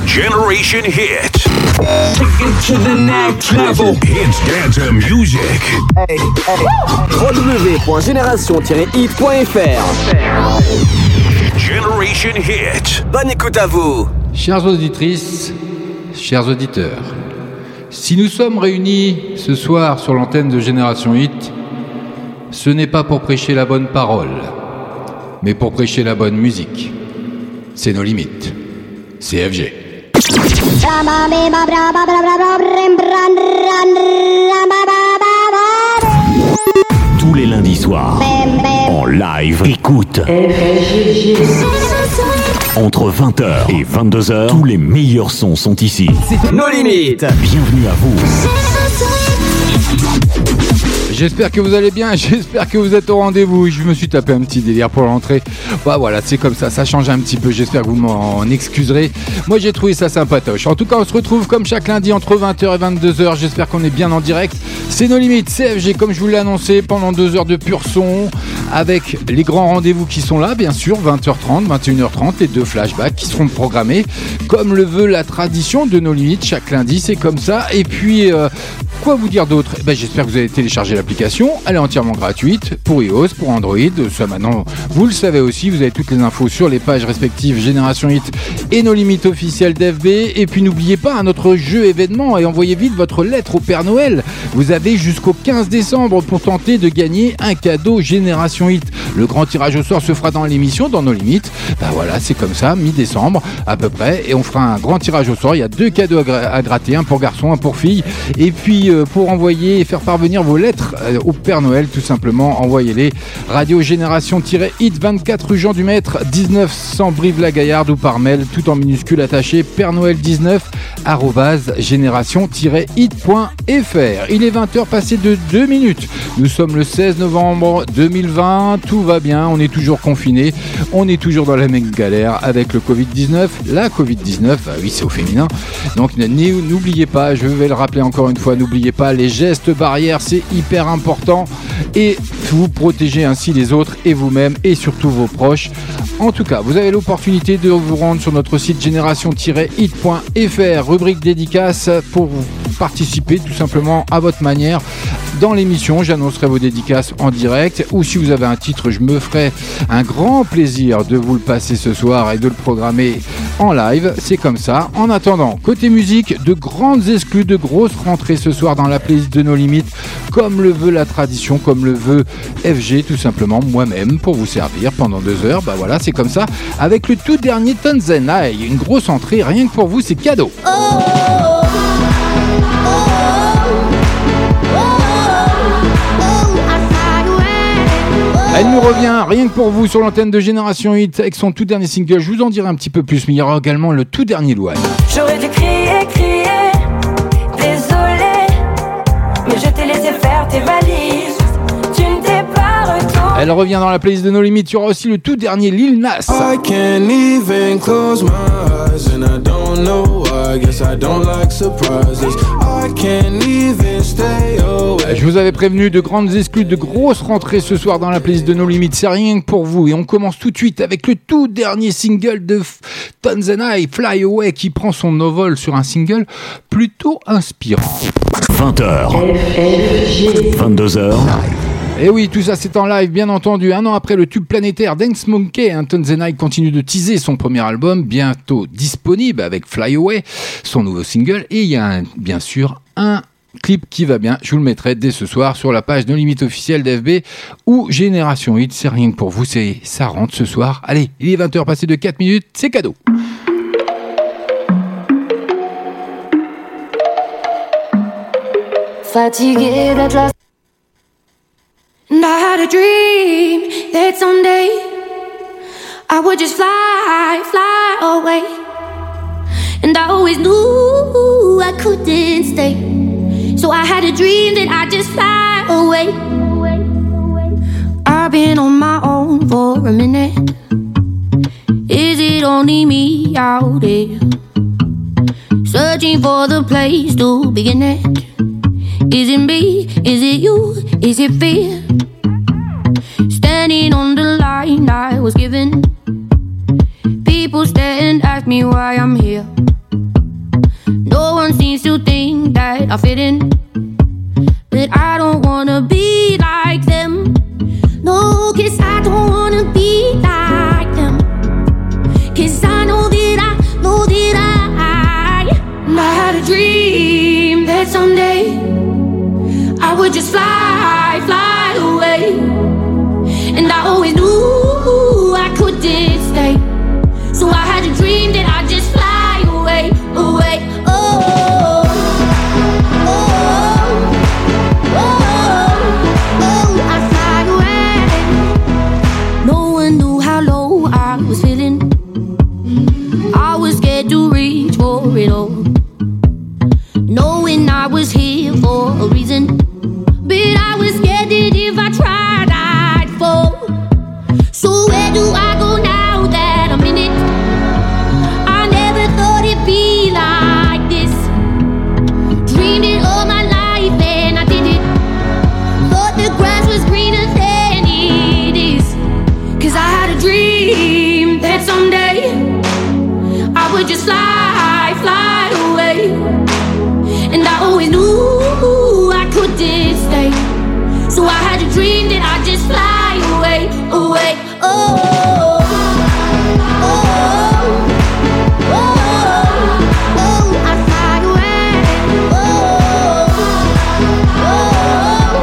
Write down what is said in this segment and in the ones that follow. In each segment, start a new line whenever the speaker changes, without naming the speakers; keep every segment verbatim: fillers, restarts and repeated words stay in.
Generation Hit.
Take it to the next level.
It's dance music.
Hey, hey. w w w point génération tiret hit point f r.
Generation Hit.
Bonne écoute à vous.
Chères auditrices, chers auditeurs, si nous sommes réunis ce soir sur l'antenne de Génération Hit, ce n'est pas pour prêcher la bonne parole, mais pour prêcher la bonne musique. C'est nos limites. C F G.
Tous les lundis soirs, en live, écoute. Entre vingt heures et vingt-deux heures, tous les meilleurs sons sont ici.
Nos limites.
Bienvenue à vous.
J'espère que vous allez bien, j'espère que vous êtes au rendez-vous. Je me suis tapé un petit délire pour l'entrée. Bah voilà, c'est comme ça, ça change un petit peu. J'espère que vous m'en excuserez. Moi j'ai trouvé ça sympatoche. En tout cas, on se retrouve comme chaque lundi entre vingt heures et vingt-deux heures. J'espère qu'on est bien en direct. C'est Nos Limites, C F G, comme je vous l'ai annoncé, pendant deux heures de pur son. Avec les grands rendez-vous qui sont là, bien sûr, vingt heures trente, vingt et une heures trente, les deux flashbacks qui seront programmés. Comme le veut la tradition de Nos Limites, chaque lundi, c'est comme ça. Et puis, euh, quoi vous dire d'autre ? Eh ben, j'espère que vous avez téléchargé l'application. Elle est entièrement gratuite pour iOS, pour Android. Ça maintenant, vous le savez aussi, vous avez toutes les infos sur les pages respectives Génération Hit et Nos Limites officielles d'F B. Et puis n'oubliez pas hein, notre jeu événement et envoyez vite votre lettre au Père Noël. Vous avez jusqu'au quinze décembre pour tenter de gagner un cadeau Génération Hit. Le grand tirage au sort se fera dans l'émission, dans Nos Limites. Ben voilà, c'est comme ça, mi-décembre à peu près. Et on fera un grand tirage au sort. Il y a deux cadeaux à, gra- à gratter, un pour garçon, un pour fille. Et puis euh, pour envoyer et faire parvenir vos lettres euh, au Père Noël, tout simplement, envoyez-les Radio Génération-Hit, vingt-quatre rue Jean du Maître, dix-neuf cents Brive-la-Gaillarde, ou par mail, tout en minuscule attaché, père noël dix-neuf arobase génération-hit point f r. Il est vingt heures passées de deux minutes. Nous sommes le seize novembre deux mille vingt. Tout va bien, on est toujours confinés, on est toujours dans la même galère avec le covid dix-neuf. La covid dix-neuf, ah oui, c'est au féminin. Donc n'oubliez pas, je vais le rappeler encore une fois, n'oubliez pas les gestes barrières, c'est hyper important. Et vous protégez ainsi les autres et vous-même et surtout vos proches. En tout cas, vous avez l'opportunité de vous rendre sur notre site génération-hit point f r, rubrique dédicace, pour participer tout simplement à votre manière dans l'émission. J'annoncerai vos dédicaces en direct, ou si vous avez un titre, je me ferai un grand plaisir de vous le passer ce soir et de le programmer en live. C'est comme ça. En attendant, côté musique, de grandes exclus, de grosses rentrées ce soir dans la playlist de Nos Limites, comme le veut la tradition, comme le veut F G, tout simplement, moi-même, pour vous servir pendant deux heures. Bah voilà, c'est comme ça. Avec le tout dernier Tanzanite, une grosse entrée, rien que pour vous, c'est cadeau. Oh, oh, oh. Elle nous revient rien que pour vous sur l'antenne de Génération Hit avec son tout dernier single. Je vous en dirai un petit peu plus, mais il y aura également le tout dernier Louane.
J'aurais dû crier, crier, désolé, mais je t'ai laissé faire tes valises. Tu ne t'es pas retourné.
Elle revient dans la playlist de Nos Limites. Il y aura aussi le tout dernier Lil Nas.
I can't even close my eyes and I don't know why. I guess I don't like surprises. I can't even stay away.
Je vous avais prévenu de grandes exclus, de grosses rentrées ce soir dans la playlist de Nos Limites. C'est rien que pour vous. Et on commence tout de suite avec le tout dernier single de Tanzanite, Fly Away, qui prend son envol sur un single plutôt inspirant.
vingt heures, vingt-deux heures.
Et oui, tout ça c'est en live, bien entendu. Un an après le tube planétaire Dance Monkey, hein, Tanzanite continue de teaser son premier album, bientôt disponible avec Fly Away, son nouveau single. Et il y a un, bien sûr un clip qui va bien, je vous le mettrai dès ce soir sur la page Nos Limites officielle d'F B ou Génération Hit. C'est rien que pour vous, c'est, ça rentre ce soir. Allez, il est vingt heures passées de quatre minutes, c'est cadeau.
Fatigué d'être là. And I had a dream that someday I would just fly, fly away. And I always knew I couldn't stay. So I had a dream that I'd just fly away. I've been on my own for a minute. Is it only me out there? Searching for the place to begin it. Is it me? Is it you? Is it fear? Standing on the line I was given. People stare and ask me why I'm here. I fit in, but I don't wanna be like them. No, 'cause I don't wanna be like them. 'Cause I know that I, know that I, and I had a dream that someday I would just fly, fly away. And I always knew I couldn't stay, so I had a dream that I'd just fly away, away. Oh, oh, oh, oh, oh, I'd fly away. No one knew how low I was feeling. I was scared to reach for it all, knowing I was here for a reason. But I was scared that if I tried, I'd fall. So where do I go now that I'm in it? I never thought it'd be like this. Dreamed it all my life and I did it. Thought the grass was greener than it is. 'Cause I had a dream that someday I would just fly, fly away. And I always knew I couldn't stay, so I had a dream that I'd just fly away, away. Oh, oh, oh, oh, oh, I'd fly away. Oh, oh,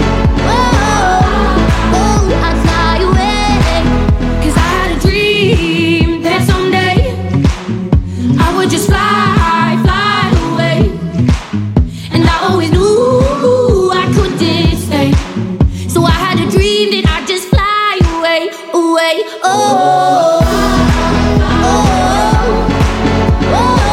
oh, oh, I'd fly away. 'Cause I had a dream that someday I would just fly, fly away. And I always knew I couldn't stay, so I had a dream that I'd just fly away, away. Oh, oh, oh, oh,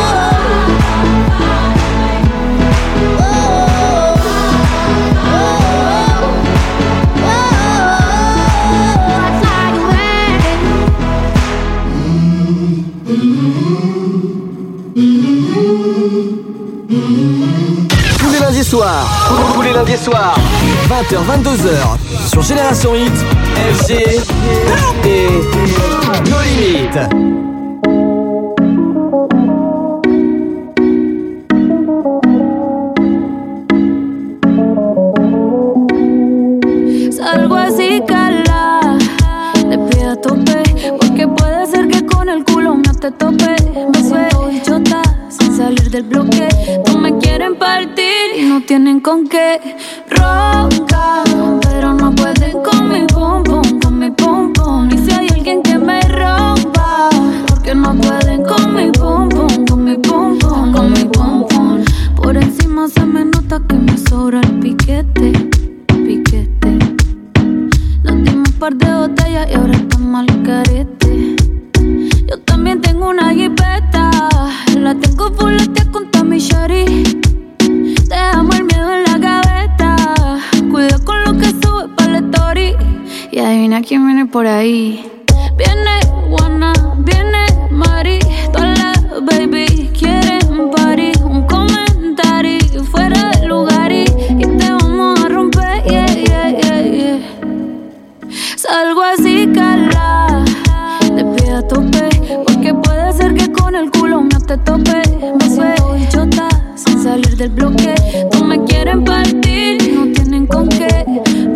oh, I'd fly away.
Tous les lundis soirs, tous les lundis soirs, vingt heures vingt-deux heures, sur Génération Hit, F G et No Limites.
Salgo así, cala, le pido a tope, porque puede ser que con el culo no te tope. Me suelto bichota sin salir del bloque. No me quieren partir y no tienen con qué. Roncan, pero no pueden con mi pum pum, con mi pum pum. Y si hay alguien que me rompa, porque no pueden con mi pum pum, con mi pum pum, con mi pum pum. Por encima se me nota que me sobra el piquete, piquete. Nos dimos un par de botellas y ahora estamos al carete. Yo también tengo una jipeta, la tengo fuletea con Tommy Shari. Dejamos el miedo en la gaveta, cuida con lo que sube pa' la story. Y adivina quién viene por ahí. Viene Juana, viene Mari, todas las baby quieren party. Un comentario fuera de lugar y, y te vamos a romper, yeah, yeah, yeah, yeah. Salgo así, cala, le pido a tope, porque puede ser que con el culo no te tope. Me suelto bichota sin salir del bloque. No me quieren partir y no tienen con qué.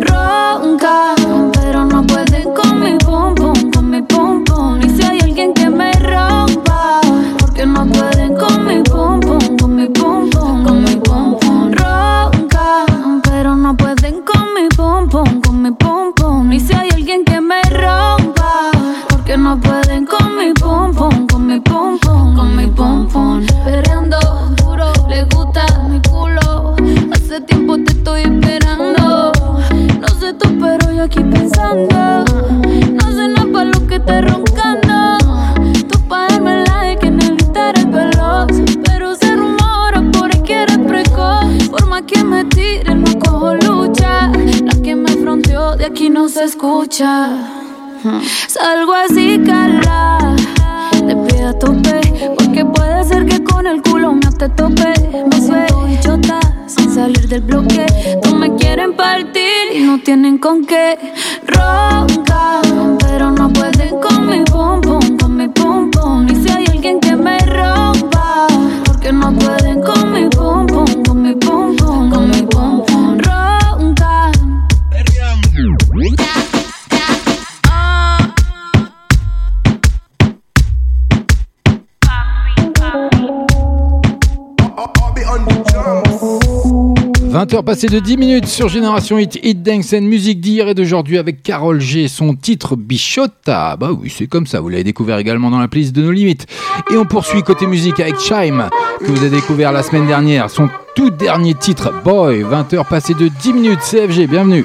Roncan, pero no pueden con mi pum pum, con mi pum pum. Y si hay alguien que me rompa, porque no pueden con mi pum pum, con mi pum pum, con mi pum pum. Roncan, pero no pueden con mi pum pum, con mi pum pum. Y si hay alguien que me rompa, porque no pueden con mi pum pum, con mi pum pum, con mi pum pum. Perreando duro, le gusta mi culo. Hace tiempo te estoy esperando. No sé tú, pero yo aquí pensando. No sé nada pa' lo que estés roncando. Tú pa' darme like en el Instagram veloz, pero se rumora por ahí que eres precoz. Forma que me tire, no cojo lucha. La que me fronteó de aquí no se escucha. Salgo así, cala, le pido a tope, porque puede ser que con el culo no te tope. Me suelto bichota sin salir del bloque. No me quieren partir y no tienen con qué. Roncan, pero no pueden con mi pum pum, con mi pum pum. Y si hay alguien que me rompa, porque no pueden con mi pum pum, con mi pum
vingt heures passées de dix minutes sur Génération Hit, Hit Dance and Musique d'hier et d'aujourd'hui avec Karol G, son titre Bichotta. Bah oui, c'est comme ça, vous l'avez découvert également dans la playlist de nos limites. Et on poursuit côté musique avec Chime, que vous avez découvert la semaine dernière, son tout dernier titre Boy. Vingt heures passées de dix minutes, C F G, bienvenue.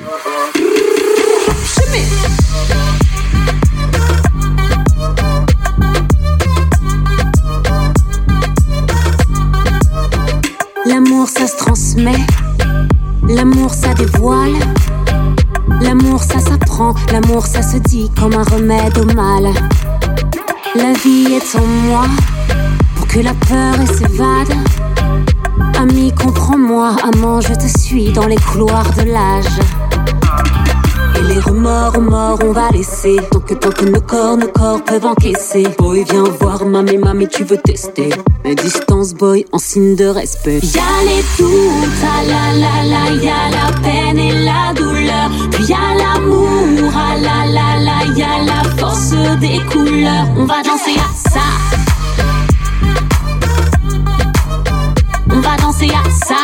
L'amour ça se transmet, l'amour ça dévoile, l'amour ça s'apprend, l'amour ça se dit comme un remède au mal. La vie est en moi, pour que la peur s'évade. Ami comprends-moi, amant je te suis dans les couloirs de l'âge. Et les remords, remords on va laisser, tant que, tant que nos corps, nos corps peuvent encaisser. Boy viens voir, mamie, mamie tu veux tester. Mais distance boy en signe de respect. Y'a les doutes, ah la la la, y'a la peine et la douleur. Puis y'a l'amour, ah la la la, y'a la force des couleurs. On va danser à ça. On va danser à ça.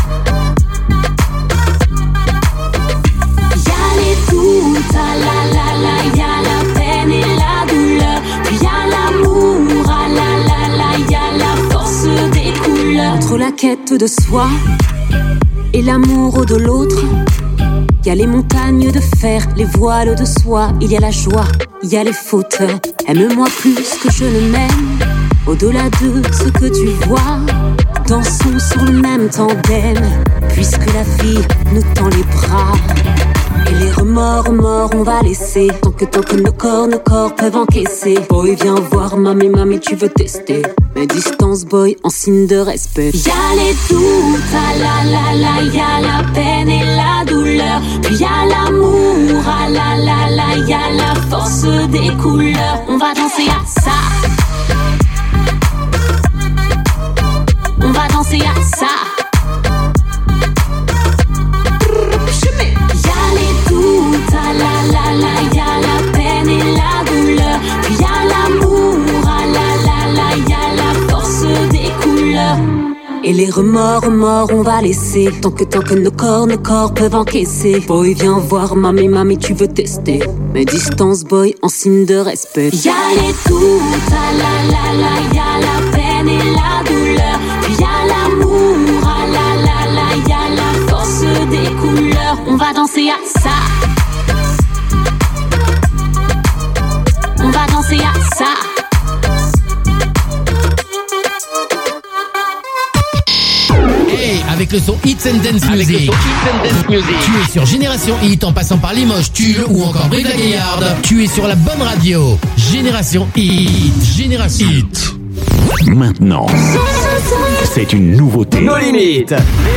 Ah la la la, y'a la peine et la douleur. Puis y'a l'amour, ah la la la, y'a la force des couleurs. Entre la quête de soi et l'amour de l'autre, y'a les montagnes de fer, les voiles de soie. Il y a la joie, il y a les fautes. Aime-moi plus que je ne m'aime, au-delà de ce que tu vois. Dansons sur le même tandem, puisque la vie nous tend les bras. Et les remords, remords, on va laisser, tant que, tant que nos corps, nos corps peuvent encaisser. Boy, viens voir, mamie, mamie, tu veux tester. Mais distance, boy, en signe de respect. Y'a les doutes, ah la la la, y'a la peine et la douleur. Puis y'a l'amour, ah la la la, y'a la force des couleurs. On va danser à ça. On va danser à ça. Ah la la la, y'a la peine et la douleur. Puis y'a l'amour, ah la la la, y'a la force des couleurs. Et les remords, remords, on va laisser, tant que, tant que nos corps, nos corps peuvent encaisser. Boy, viens voir, mamie, mamie, tu veux tester. Mais distance, boy, en signe de respect. Y'a les doutes, ah la la la, y'a la peine et la douleur. Puis y'a l'amour, ah la la la, y'a la force des couleurs. On va danser à ça. On va danser à ça.
Hey, avec le son Hits and Dance Music. Avec le son Hits and Dance Music. Tu es sur Génération Hit en passant par Limoges, Tulle ou encore Brive-la-Gaillarde. Tu es sur la bonne radio. Génération Hit. Génération Hit.
Maintenant, c'est une nouveauté.
Nos limites.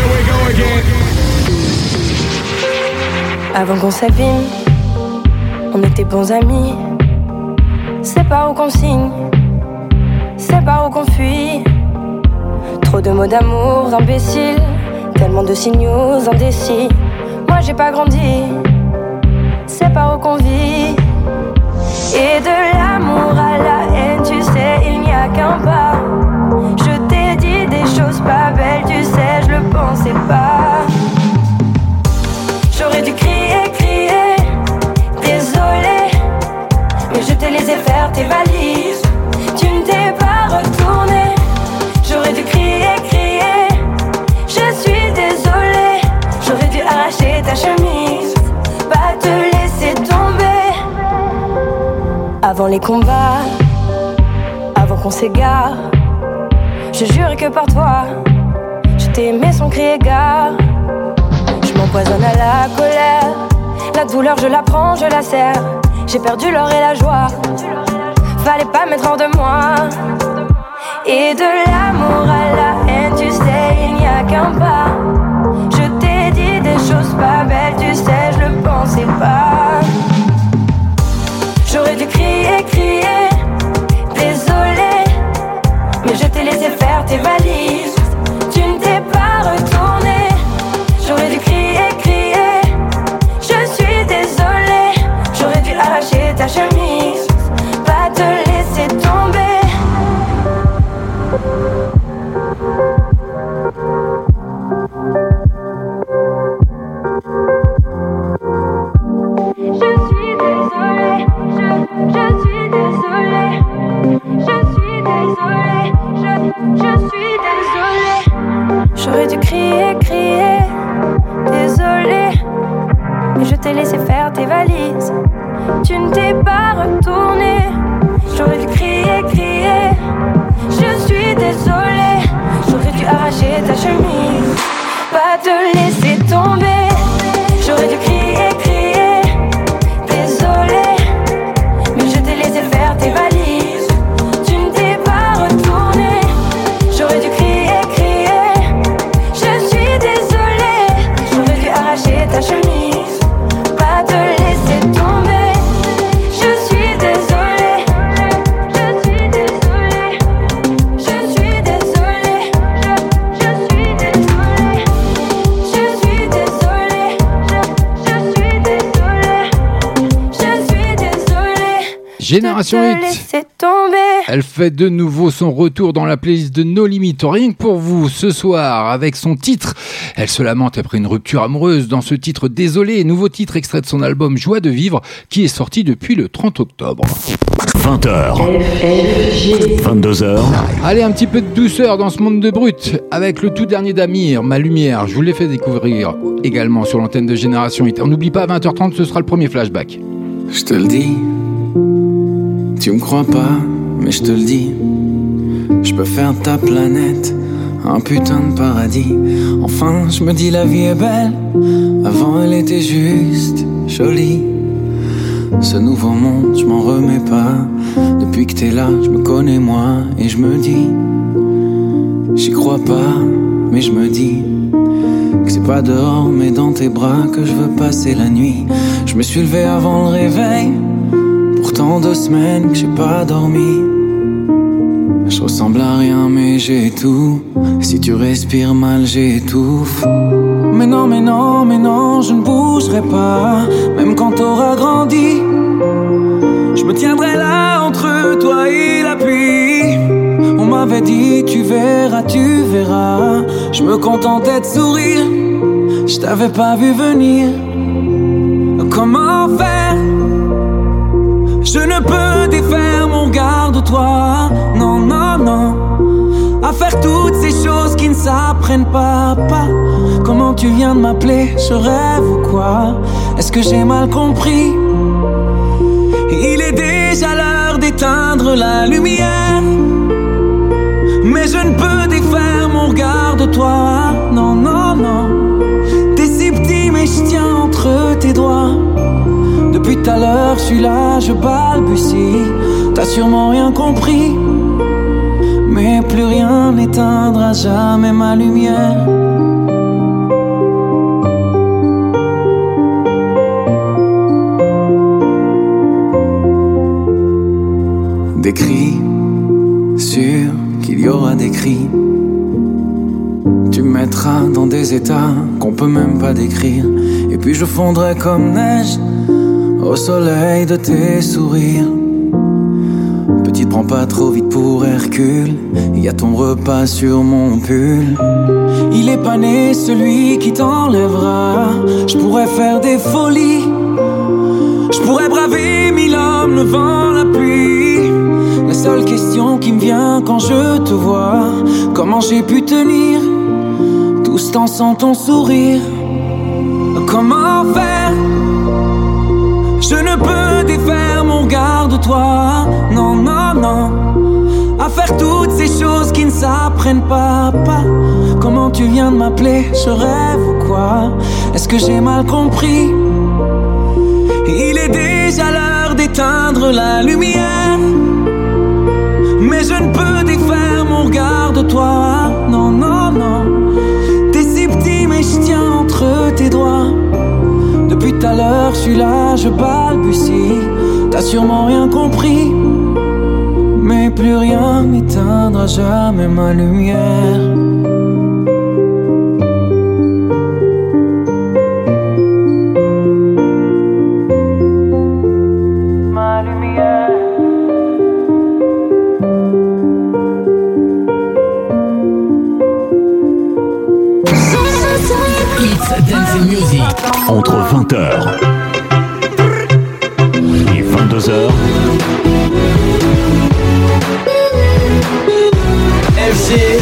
Avant qu'on s'abîme, on était bons amis. C'est pas où qu'on signe, c'est pas où qu'on fuit. Trop de mots d'amour imbéciles, tellement de signaux indécis. Moi j'ai pas grandi, c'est pas où qu'on vit. Et de l'amour à la haine, tu sais, il n'y a qu'un pas. Je t'ai dit des choses pas belles, tu sais, je le pensais pas. J'aurais dû crier, crier, désolé, mais je t'ai laissé faire tes valises. Tu ne t'es pas retourné. J'aurais dû crier, crier, je suis désolée. J'aurais dû arracher ta chemise, pas te laisser tomber. Avant les combats, avant qu'on s'égare, je jure que par toi, je t'ai aimé sans crier gare. Je m'empoisonne à la colère, la douleur je la prends, je la serre. J'ai perdu l'or et la joie, fallait pas mettre hors de moi. Et de l'amour à la haine, tu sais, il n'y a qu'un pas. Je t'ai dit des choses pas belles, tu sais, je le pensais pas. J'aurais dû crier, crier, désolé, mais je t'ai laissé faire tes valises. Tu ne t'es pas retourné. J'aurais dû crier, crier, je suis désolée. J'aurais dû arracher ta chemise, pas te laisser tomber. retourner. J'aurais dû crier, crier. Je suis désolée. J'aurais dû arracher ta chemise, pas te laisser tomber. J'aurais dû crier, crier. Désolée, mais je t'ai laissé faire tes valises. Tu ne t'es pas retourné. J'aurais dû crier, crier. Je suis désolée. J'aurais dû arracher ta chemise, pas te laisser tomber. Je suis désolée. Je suis désolée. Je suis désolée. Je, je suis désolée. Je suis désolée. Je, je suis désolée. Je suis désolée.
Génération
de te
Hit.
laisser tomber.
Elle fait de nouveau son retour dans la playlist de No Limit, rien que pour vous ce soir avec son titre. Elle se lamente après une rupture amoureuse dans ce titre Désolé, nouveau titre extrait de son album Joie de vivre qui est sorti depuis le trente octobre.
vingt heures. vingt-deux heures.
Allez, un petit peu de douceur dans ce monde de brut avec le tout dernier d'Amir, Ma Lumière. Je vous l'ai fait découvrir également sur l'antenne de Génération Hit. On n'oublie pas, à vingt heures trente, ce sera le premier flashback.
Je te le dis, tu me crois pas, mais je te le dis. Je peux faire de ta planète un putain de paradis. Enfin, je me dis la vie est belle. Avant, elle était juste jolie. Ce nouveau monde, je m'en remets pas. Depuis que t'es là, je me connais moi. Et je me dis, j'y crois pas, mais je me dis que c'est pas dehors, mais dans tes bras que je veux passer la nuit. Je me suis levé avant le réveil. Pourtant deux semaines que j'ai pas dormi. Je ressemble à rien mais j'ai tout. Si tu respires mal j'étouffe. Mais non, mais non, mais non, je ne bougerai pas. Même quand t'auras grandi, je me tiendrai là entre toi et la pluie. On m'avait dit tu verras, tu verras. Je me contentais de sourire. Je t'avais pas vu venir. Comment faire? Je ne peux défaire mon regard de toi. Non, non, non. À faire toutes ces choses qui ne s'apprennent pas, pas. Comment tu viens de m'appeler? Je rêve ou quoi? Est-ce que j'ai mal compris? Il est déjà l'heure d'éteindre la lumière. Mais je ne peux défaire mon regard de toi. Non, non, non. T'es si petit mais je tiens entre tes doigts. Depuis tout à l'heure, je suis là, je balbutie. T'as sûrement rien compris. Mais plus rien n'éteindra jamais ma lumière. Des cris, sûr qu'il y aura des cris. Tu me mettras dans des états qu'on peut même pas décrire. Et puis je fondrai comme neige au soleil de tes sourires. Petite, prends pas trop vite pour Hercule. Y a ton repas sur mon pull. Il est pas né celui qui t'enlèvera. Je pourrais faire des folies. Je pourrais braver mille hommes, le vent, la pluie. La seule question qui me vient quand je te vois, comment j'ai pu tenir tout ce temps sans ton sourire? Comment faire? Je ne peux défaire mon regard de toi. Non, non, non. À faire toutes ces choses qui ne s'apprennent pas, pas. Comment tu viens de m'appeler? Je rêve ou quoi? Est-ce que j'ai mal compris? Il est déjà l'heure d'éteindre la lumière. Mais je ne peux défaire mon regard de toi. Non, non, non. T'es si petit mais je tiens entre tes doigts. Depuis tout à l'heure, je suis là, je balbutie. T'as sûrement rien compris. Mais plus rien n'éteindra jamais ma lumière. Ma lumière.
It's Dancing Music.
Entre vingt heures et vingt-deux heures.
F G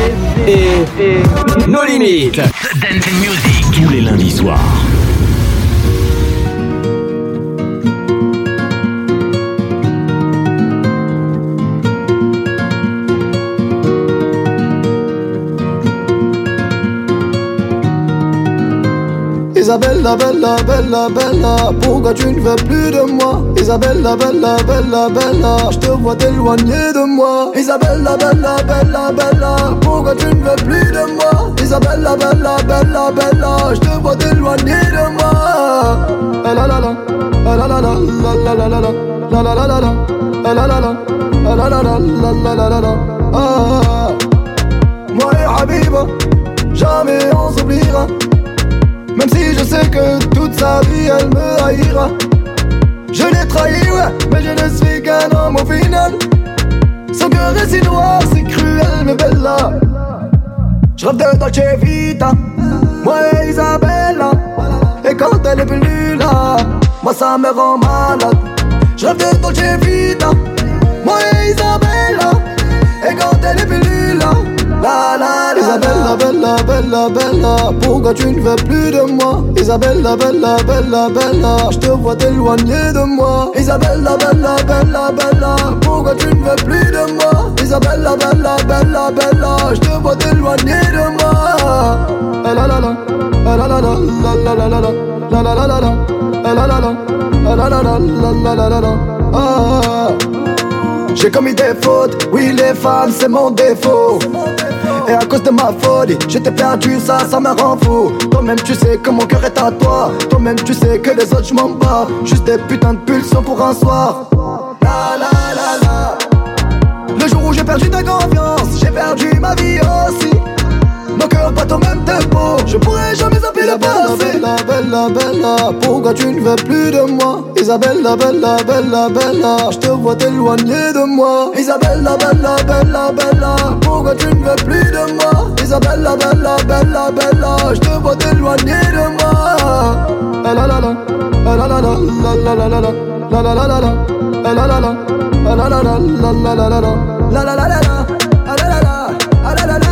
et No Limit.
Dancing Music.
Tous les lundis soirs.
Isabella, bella, bella, bella, pourquoi tu ne veux plus de moi? Isabella, bella, bella, bella, je te vois t'éloigner de moi. Isabella, bella, bella, bella, pourquoi tu ne veux plus de moi? Isabella, bella, bella, bella, je te vois t'éloigner de moi. La la la la, la la la la, la la la la, la la la la la, la la la la, la la la la, la la la la. Moi et Habiba, jamais on s'oubliera. Même si je sais que toute sa vie elle me haïra. Je l'ai trahi, ouais, mais je ne suis qu'un homme au final. Son cœur est si noir, si cruel, mais bella. Je rêve de Dolce Vita, moi et Isabella. Et quand elle est plus là, moi ça me rend malade. Je rêve de Dolce Vita, moi et Isabella. Et quand elle est plus là, la la la. Isabella, bella, bella, bella, pourquoi tu ne veux plus de moi? Isabella, bella, bella, bella, je te vois t'éloigner de moi. Isabella, bella, bella, bella, pourquoi tu ne veux plus de moi? Isabella, bella, bella, bella, je te vois t'éloigner de moi. La la la la, la la la la, la la la la, la la la la la, la la la la, la la la la, la la la la. J'ai commis des fautes, oui les femmes c'est mon défaut. Et à cause de ma folie, je t'ai perdu, ça, ça me rend fou. Toi-même tu sais que mon cœur est à toi. Toi-même tu sais que les autres je m'en bats. Juste des putains de pulsions pour un soir. La la la la. Le jour où j'ai perdu ta confiance, j'ai perdu ma vie aussi. Nos cœurs battent au même tempo, je pourrais jamais zapper le passé. Bella, bella, bella, pourquoi tu ne veux plus de moi? Isabella, bella, bella, bella, je te vois t'éloigner de moi. Isabella, bella, bella, bella, pourquoi tu ne veux plus de moi? Isabella, bella, bella, bella, je te vois t'éloigner de moi. La la la la, la la la la, la la la la, la la la la la, la la la la, la la la la, la la la la, la la la la, la la la la, la la la la, la la la la.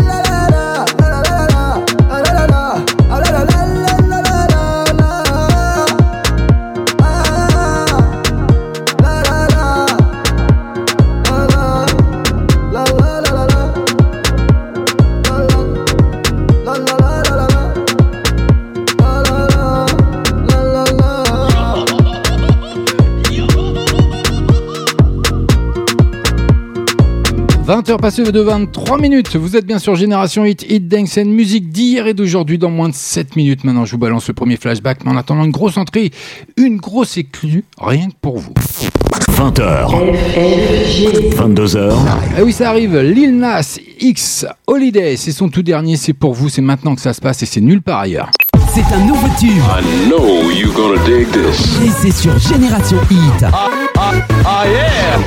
vingt heures passées de vingt-trois minutes, vous êtes bien sur Génération Hit, Hit Dance and Music d'hier et d'aujourd'hui dans moins de sept minutes. Maintenant je vous balance le premier flashback, mais en attendant une grosse entrée, une grosse éclue, rien que pour vous.
vingt heures, vingt-deux heures.
Ah oui, ça arrive, Lil Nas X Holiday, c'est son tout dernier, c'est pour vous, c'est maintenant que ça se passe et c'est nulle part ailleurs.
C'est un nouveau tube.
I know you're gonna dig this.
Et c'est sur Génération Hit.
Ah, ah, ah yeah.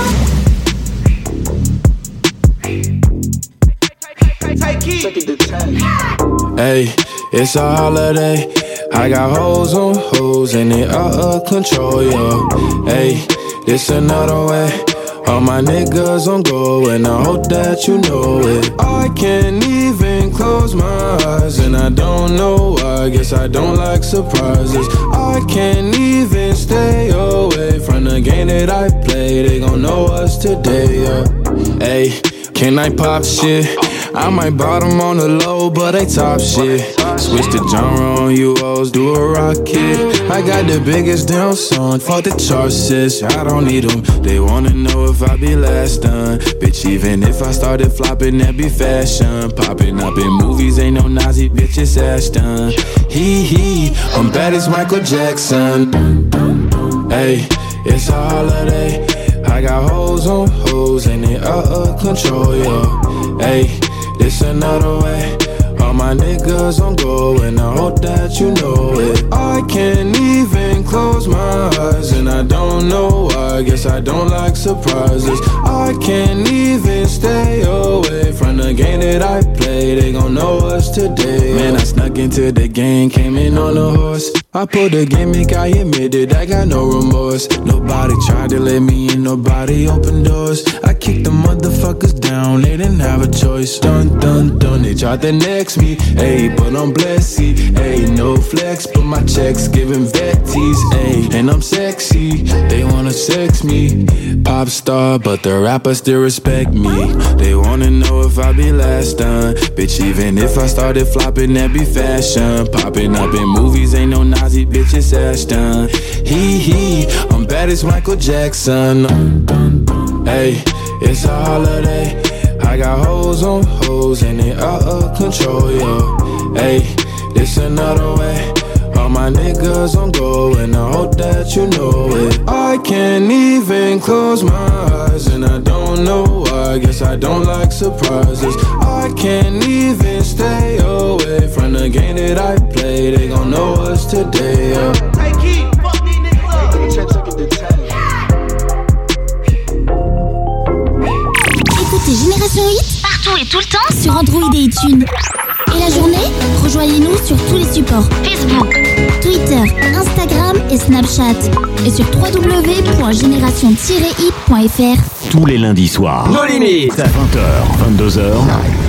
Hey, it's a holiday. I got hoes on hoes and they out of control, yo. Hey, this another way. All my niggas on go and I hope that you know it. I can't even close my eyes and I don't know why. Guess I don't like surprises. I can't even stay away from the game that I play. They gon' know us today, yeah. Hey, can I pop shit? I might bottom on the low, but they top shit. Switch the genre on you hoes, do a rocket. I got the biggest damn song, fuck the charts, sis. I don't need them, they wanna know if I be last done. Bitch, even if I started flopping, that be fashion. Popping up in movies, ain't no Nazi, bitch, it's Ashton. Hee hee, I'm bad as Michael Jackson. Hey, it's a holiday. I got hoes on hoes and they out of control, yo. Hey, this another way. All my niggas on go and I hope that you know it. I can't even close my eyes and I don't know why. Guess I don't like surprises. I can't even stay away from the game that I play. They gon' know us today. Man, I snuck into the game, came in on a horse. I pulled a gimmick, I admit it, I got no remorse. Nobody tried to let me in, nobody opened doors. I kicked the motherfuckers down, they didn't have a choice. Dun, dun, dun, they tried to next me. Ayy, but I'm blessed, ayy, no flex, but my checks giving vetties, ayy. And I'm sexy, they wanna sex me. Pop star, but the rappers still respect me. They wanna know if I be last done. Bitch, even if I started flopping, that be fashion. Popping up in movies, ain't no Nazi bitches Ashton. Hee hee, I'm bad as Michael Jackson. Hey, it's a holiday. I got hoes on hoes and they out of control, yo. Hey, this another way. All my niggas on go and I hope that you know it. I can't even close my eyes and I don't know why. Guess I don't like surprises. I can't even stay away from the game that I play. They gon' know us today, yeah.
Hey, Key, fuck these niggas up.
Écoutez Génération Hit partout et tout le temps sur Android et iTunes. Et la journée, rejoignez-nous sur tous les supports Facebook, Twitter, Instagram et Snapchat. Et sur w w w point génération tiret hit point f r.
Tous les lundis soirs.
Nos limites.
vingt heures, vingt-deux heures.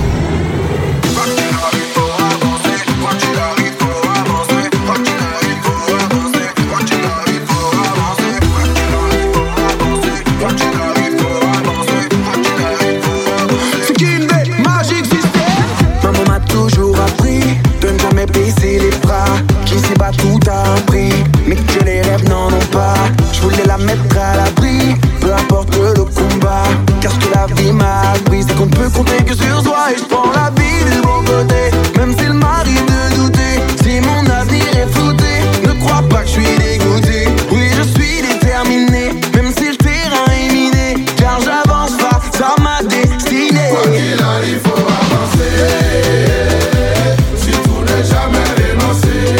Tout a un prix, mais que les rêves n'en ont pas. Je voulais la mettre à l'abri, peu importe le combat. Car ce que la vie m'a appris, c'est qu'on ne peut compter que sur soi. Et je prends la vie du bon côté, même s'il m'arrive de douter. Si mon avenir est flouté, ne crois pas que je suis dégoûté. Oui, je suis déterminé, même si le terrain est miné. Car j'avance face à ma destinée.
Quoi qu'il arrive, faut avancer. Si tout n'est jamais dénoncé.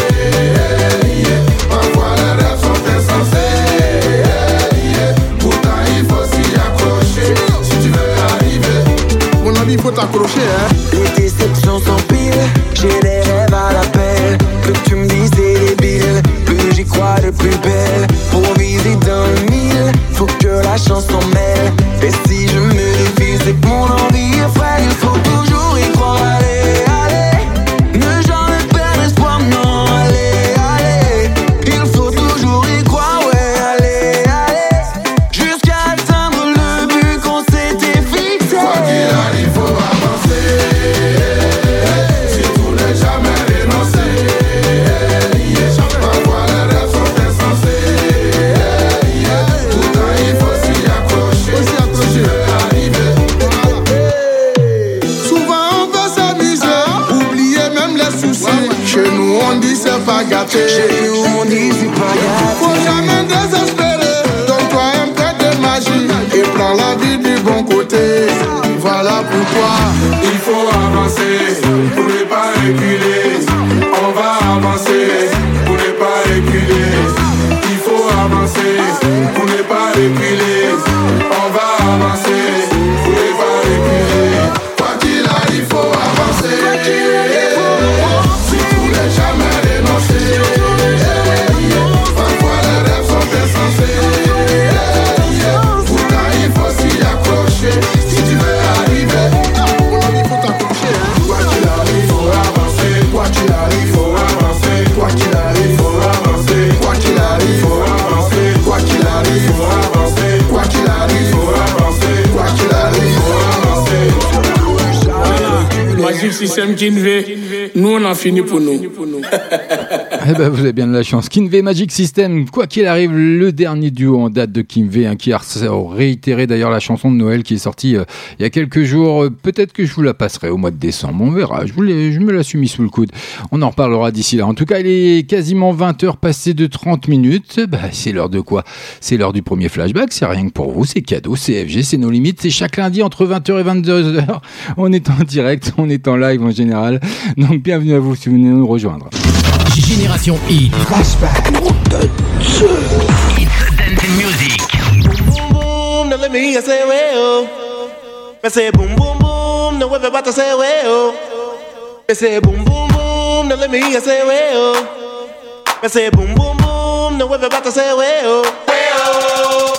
Il faut t'accrocher, hein. Les déceptions s'empilent, j'ai les rêves à l'appel. Plus que tu me dis c'est débile, plus j'y crois de plus belle. Pour viser dans le mille, faut que la chance s'en mêle. Et si je me défie, c'est que mon envie est frêle. Il faut toujours y croire, allez, allez. Ne jamais perdre espoir, non, allez, allez. Il faut toujours y croire, ouais, allez, allez. Jusqu'à atteindre le but qu'on s'était fixé.
Quoi qu'il arrive, faut avancer. Si tout n'est jamais dénoncé. Parfois les rêves sont insensés. Pourtant il faut s'y accrocher. Si tu veux arriver.
Souvent on veut s'amuser, oublier même les soucis. Chez nous on dit c'est pas gâté. Chez nous on dit c'est pas gâté. Faut jamais désespérer, donne-toi un peu de magie et prends la vie du bon côté. Voilà pourquoi
il faut avancer pour ne pas reculer. On va avancer pour ne pas reculer. Il faut avancer pour ne pas reculer. On va avancer pour ne pas reculer. Quoi qu'il arrive, faut avancer. Si tout n'est jamais dénoncé. Parfois les rêves sont insensés. Pourtant il faut s'y accrocher. Si tu veux arriver, il faut t'accrocher. Quoi qu'il arrive, faut avancer. Quoi qu'il arrive, faut avancer. Quoi qu'il arrive, faut avancer. Quoi qu'il arrive, faut avancer. Quoi qu'il arrive, faut avancer. Quoi qu'il arrive, faut avancer. Quoi qu'il arrive, faut avancer.
Magic System Kinvé, nous on a fini pour nous.
Eh ben, vous avez bien de la chance. Kinvé Magic System, quoi qu'il arrive, le dernier duo en date de Kinvé, hein, qui a réitéré d'ailleurs la chanson de Noël qui est sortie euh, il y a quelques jours. Peut-être que je vous la passerai au mois de décembre, on verra. Je, vous je me la suis mis sous le coude. On en reparlera d'ici là. En tout cas, il est quasiment vingt heures passées de trente minutes. Bah, c'est l'heure de quoi? C'est l'heure du premier flashback. C'est rien que pour vous, c'est cadeau, c'est F G, c'est nos limites. C'est chaque lundi entre vingt heures et vingt-deux heures. On est en direct, on est en live en général. Donc bienvenue à vous si vous venez nous rejoindre.
Génération Hit.
Flashback.
It's Dance Music.
Boom boom, now let me hear you say well. I say boom boom boom, now everybody say well. I say boom boom boom, now let me hear you say well. Me say boom boom boom, now everybody say way oh, way oh.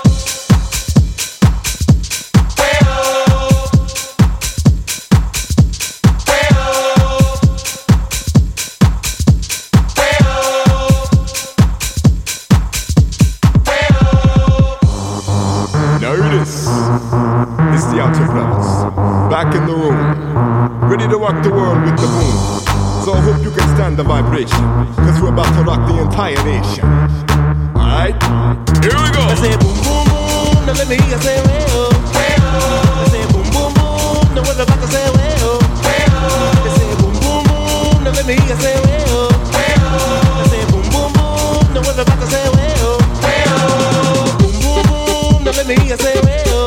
It's the Outer Brothers, back in the room, ready to rock the world with the boom. So I hope you can stand the vibration, cause we're about to rock the entire nation. Alright, here we go.
I say boom boom boom, now let me hear you say way oh, way oh. I say boom boom boom, now we're about to say way oh, way oh. I say boom boom boom, now let me hear you say way oh, way oh. I say boom boom boom, now we're about to say way oh, way oh. Boom boom boom, now let me hear you say way oh.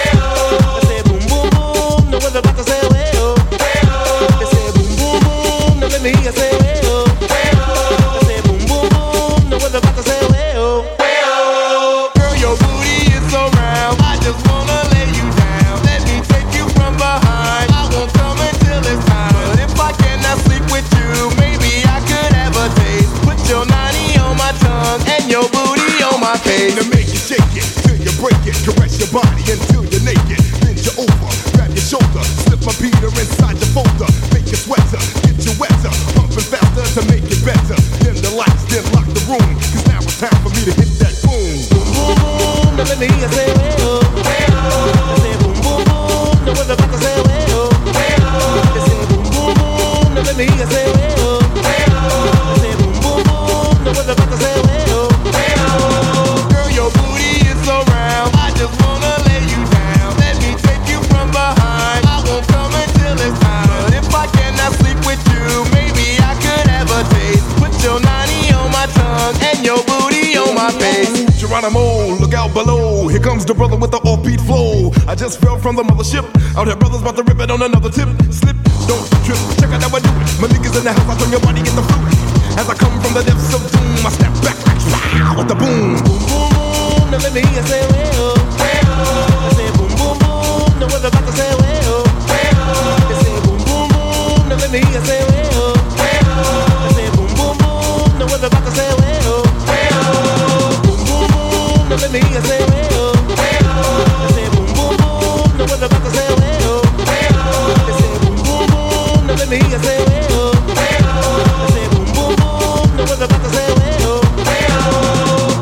Me, I say, way oh, way oh. I say, boom, boom, boom. No one's about to say, way oh, way oh.
Girl, your booty is so round. I just wanna lay you down. Let me take you from behind. I won't come until it's time. But if I cannot sleep with you, maybe I could have a taste. Put your ninety on my tongue and your booty on my face. To make you shake it till you break it. Caress your body until you're naked. Bend you over, grab your shoulder, slip my Peter inside your folder. Make you sweater. Wetter, pumping faster to make it better. Dim the lights, then lock the room. Cause now it's time for me to hit that boom.
Boom, boom, boom. Now let me hear you say, way oh, way oh. I say, boom, boom, boom. Now we're about to say, way oh, way oh. I say, boom, boom, boom. Now let me hear you say, way oh, way oh. I say, boom, boom, boom. Now we're about to say, way oh, way oh.
Girl, your booty is so round. I just wanna lay you down. Let me take you from behind. I won't come until it's time. But if I cannot sleep with you, maybe I could have a taste. Put your ninety on my tongue and your booty on my face. Geronimo, look out below. Here comes the brother with the offbeat flow. I just fell from the mothership. Out here, brothers about to rip it on another tip. Slip, don't trip, check out how I do it. My niggas in the house, I turn your body into fluid. As I come from the depths of doom, I snap back like wow, with the boom.
Boom, boom, boom. Now let me hear you say, way oh, way oh. I say, boom, boom, boom. Now we're about to say, way oh, way oh. I say, boom, boom, boom. Now let me hear you say, way oh, way oh. I say, boom, boom, boom. Now we're about to say, way oh, way oh. Boom, boom, boom. Now let me hear you say, way oh, way oh. I say, boom, boom, boom. Now we're about to say, way oh, way oh. I say, boom, boom, boom. Now let me hear you say, way oh, way oh. I say, boom, boom, boom. Now we're about to say, way oh, way oh.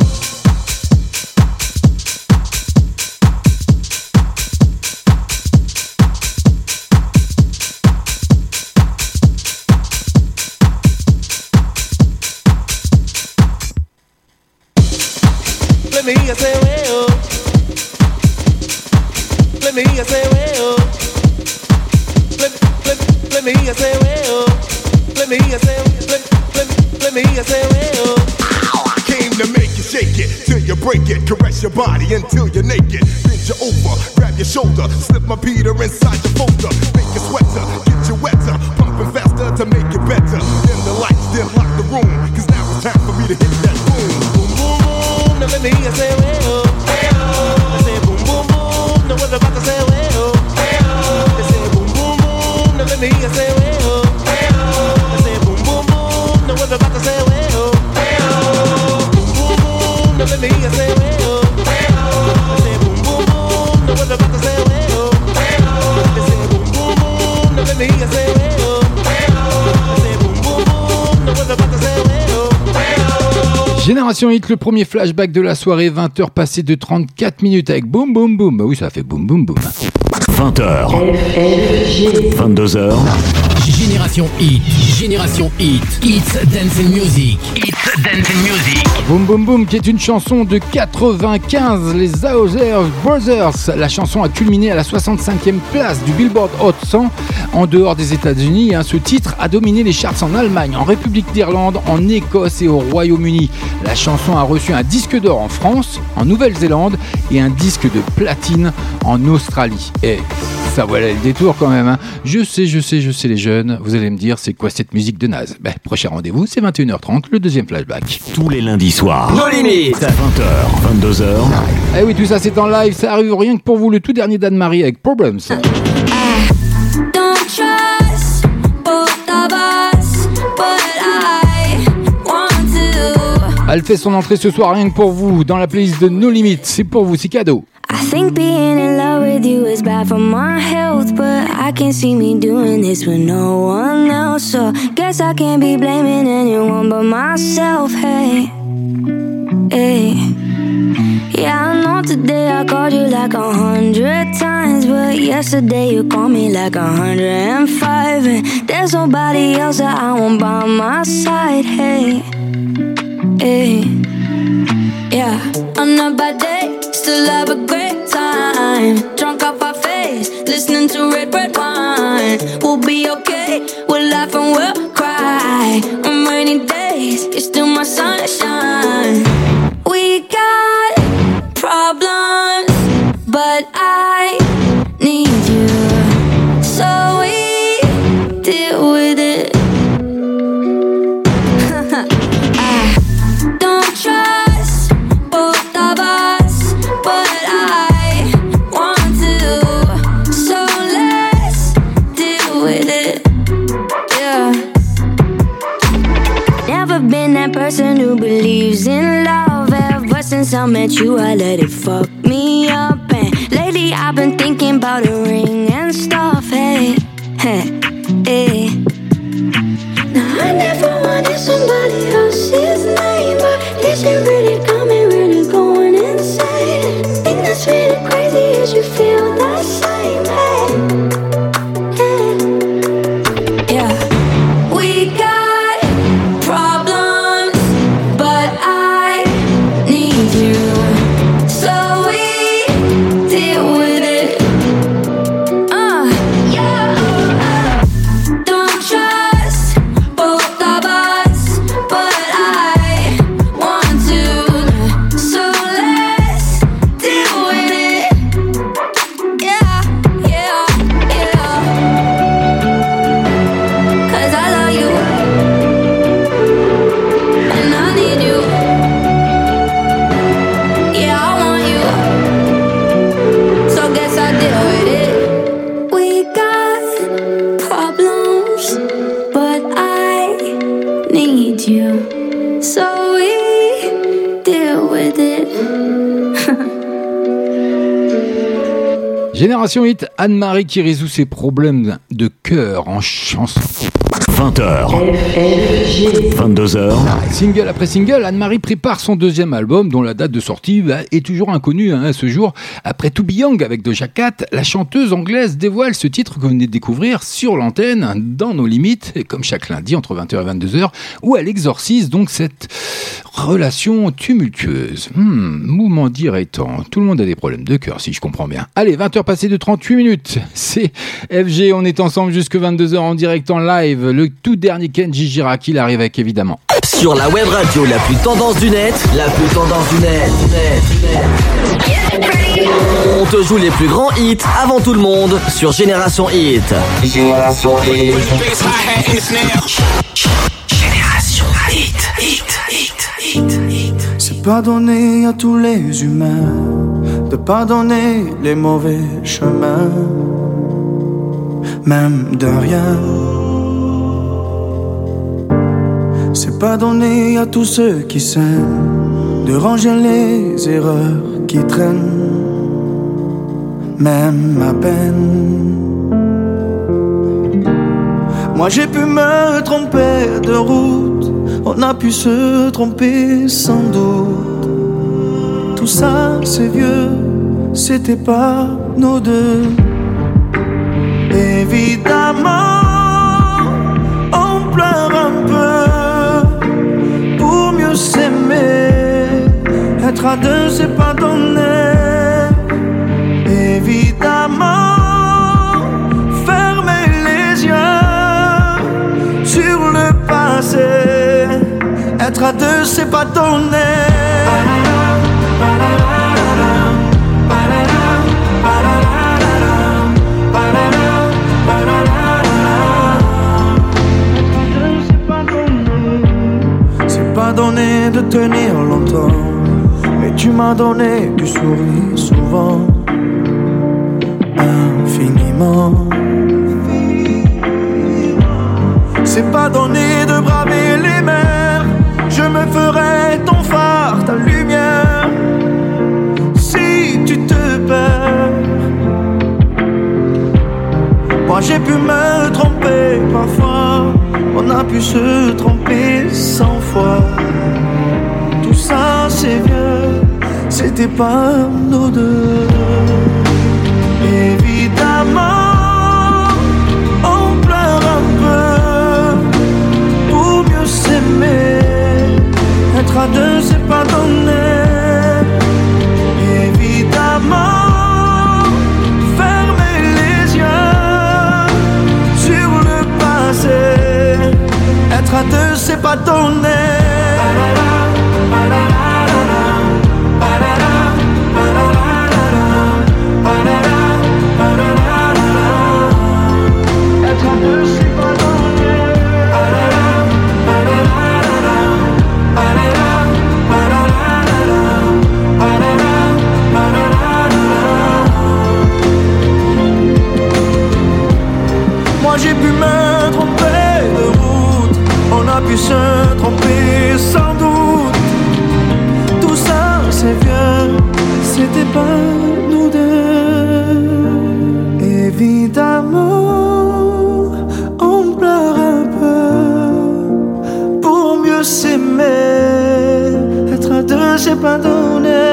Let me hear you say, way oh. Let me hear you say, way oh. Let, let, let me hear you say, way oh. Let me hear you say, let, let, let me hear you say, way oh.
I came to make you shake it till you break it. Caress your body until you're naked. Bend you over, grab your shoulder, slip my Peter inside your folder. Make you sweater, get you wetter, pumping faster to make it better. Dim the lights, then lock the room. Cause now it's time for me to hit that boom.
Boom, boom, boom. Now let me hear you say, way oh, way oh. I say, boom, boom, boom. Now we're about to say, way oh, way oh. I say, boom, boom, boom. Now let me hear you say, way oh, way oh. I say, boom, boom, boom. Now we're about to say, way oh, way oh. Boom, boom, boom. Now let me hear you say, way oh, way oh. I say, boom, boom, boom. Now we're about to say, way oh, way oh. I say, boom, boom, boom. Now let me hear you say, way oh, way oh. I say, boom, boom, boom. Now we're about to say, way oh, way oh.
Génération Hit, le premier flashback de la soirée, vingt heures passées de trente-quatre minutes avec Boum Boum Boum. Bah oui, ça fait Boum Boum Boum.
vingt heures. vingt-deux heures.
Génération Hit, Génération Hit, It's Dancing Music, It's Dancing Music.
Boum Boum Boum, qui est une chanson de quatre-vingt-quinze, les Hauser Brothers. La chanson a culminé à la soixante-cinquième place du Billboard Hot cent en dehors des États-Unis. Ce titre a dominé les charts en Allemagne, en République d'Irlande, en Écosse et au Royaume-Uni. La chanson a reçu un disque d'or en France, en Nouvelle-Zélande et un disque de platine en Australie. Et ça valait le détour quand même, hein. Je sais, je sais, je sais les jeunes, vous allez me dire c'est quoi cette musique de naze. Ben, prochain rendez-vous, c'est vingt et une heures trente, le deuxième flashback.
Tous les lundis soirs.
Nos limites.
vingt heures, vingt-deux heures.
Eh oui, tout ça c'est en live, ça arrive rien que pour vous, le tout dernier d'Anne-Marie avec Problems.
Don't trust both of us, but I want to.
Elle fait son entrée ce soir rien que pour vous dans la playlist de No Limit. C'est pour vous, c'est cadeau.
I think being in love with you is bad for my health, but I can't see me doing this with no one else. So guess I can't be blaming anyone but myself. Hey, hey. Yeah, I know today I called you like a hundred times, but yesterday you called me like a hundred and five. And there's nobody else that I want by my side. Hey, hey. Yeah, on a bad day, still have a great time. Drunk off our face, listening to red, red wine. We'll be okay, we'll laugh and we'll cry. On rainy days, you're still my sunshine. We got problems, but I need you, so we deal with it. I don't trust both of us, but I want to, so let's deal with it. Yeah. Never been that person who believes in love. Ever since I met you, I let it fuck me up. And lately I've been thinking about a ring and stuff. Hey, hey, hey. Now I never wanted somebody else's name, but this shit really got me really going insane. Thing that's really crazy is you feel the same. Hey, hey. Yeah. We got problems, but I need you, so we deal with it. Uh, yeah. Don't trust both of us, but I want to, so let's deal with it. Yeah, yeah, yeah. 'Cause I love you, and I need you. Yeah, I want you, so guess I deal with it. We got problems, but I need you, so we deal with it.
Génération Hit, Anne-Marie qui résout ses problèmes de cœur en chanson.
vingt heures, vingt-deux heures.
Single après single, Anne-Marie prépare son deuxième album dont la date de sortie bah, est toujours inconnue hein, à ce jour. Après To Be Young avec Doja Cat, la chanteuse anglaise dévoile ce titre que vous venez de découvrir sur l'antenne dans Nos Limites, et comme chaque lundi entre vingt heures et vingt-deux heures, où elle exorcise donc cette relation tumultueuse. Hmm, mouvement dirait-on. Tout le monde a des problèmes de cœur si je comprends bien. Allez, vingt heures passées de trente-huit minutes. C'est F G, on est ensemble jusque vingt-deux heures en direct en live. Le tout dernier Kenji Girac, il arrive avec évidemment.
Sur la web radio la plus tendance du net, la plus tendance du net, net, net. On te joue les plus grands hits avant tout le monde sur Génération Hit. Génération Hit. Génération Hit, hit, hit, hit, hit.
C'est pas donné à tous les humains de pardonner les mauvais chemins, même de rien. C'est pas donné à tous ceux qui s'aiment de ranger les erreurs qui traînent, même à peine. Moi j'ai pu me tromper de route, on a pu se tromper sans doute. Tout ça c'est vieux, c'était pas nos deux. Évidemment on pleure un peu pour mieux s'aimer. Être à deux c'est pas donné. Évidemment fermer les yeux sur le passé. Être à deux c'est pas donné. C'est pas donné de tenir longtemps, mais tu m'as donné du sourire souvent, infiniment. C'est pas donné de braver les mers, je me ferai ton
j'ai pu me tromper parfois, on a pu se tromper cent fois. Tout ça c'est vieux, c'était pas nous deux. Évidemment, on pleure un peu pour mieux s'aimer. Être à deux c'est pas donné. Évidemment, fermer les yeux sur le passé. Être à deux c'est pas donné. Moi j'ai pu me tromper de route, on a pu se tromper sans doute. Tout ça c'est vieux, c'était pas nous deux. Évidemment, on pleure un peu pour mieux s'aimer. Être à deux c'est pas donné.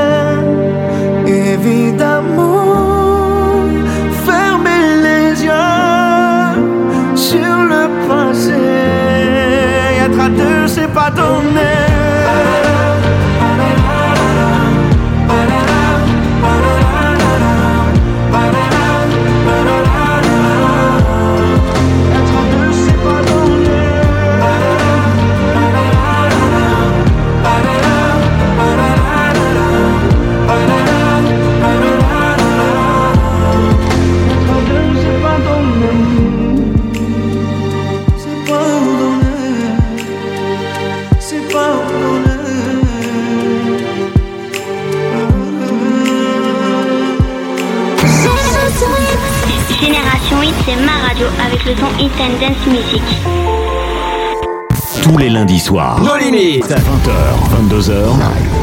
Évidemment, fermer les yeux sur le passé. Être à deux c'est pas donné.
Génération Hit, c'est ma radio avec le son Hit and Dance Music.
Tous les lundis soirs.
Nos limites.
À vingt heures, vingt-deux heures.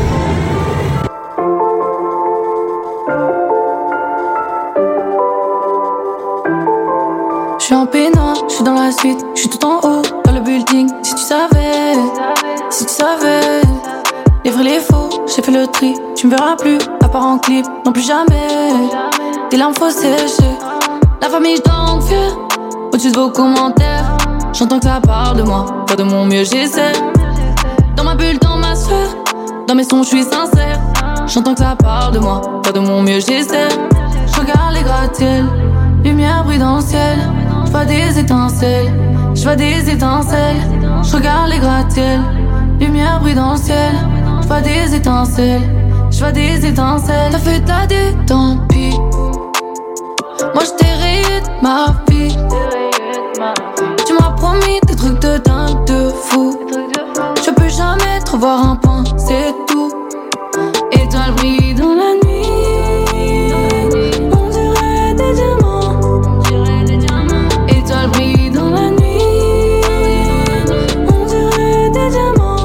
Je suis en pénal, je suis dans la suite, je suis tout en haut, dans le building. Si tu savais, si tu savais, les vrais, les faux, j'ai fait le tri. Tu me verras plus, à part en clip, non plus jamais. Des larmes faut sécher, la famille je t'en fier. Au-dessus de vos commentaires, j'entends que ça parle de moi, pas de mon mieux j'essaie. Dans ma bulle, dans ma sphère, dans mes sons je suis sincère. J'entends que ça parle de moi, pas de mon mieux j'essaie. Je regarde les gratte-ciels, lumière brille dans le ciel. Je vois des étincelles, je vois des étincelles. Je regarde les gratte-ciels, lumière brille dans le ciel. Je vois des étincelles, je vois des étincelles. T'as fait de la dé, tant pis. Moi je t'ai rayé de ma vie. Tu m'as promis des trucs de dingue, de fou. Je peux jamais te revoir un point, c'est tout. Étoiles brillent dans la nuit. On dirait des diamants. Étoiles brillent dans la nuit. On dirait des diamants.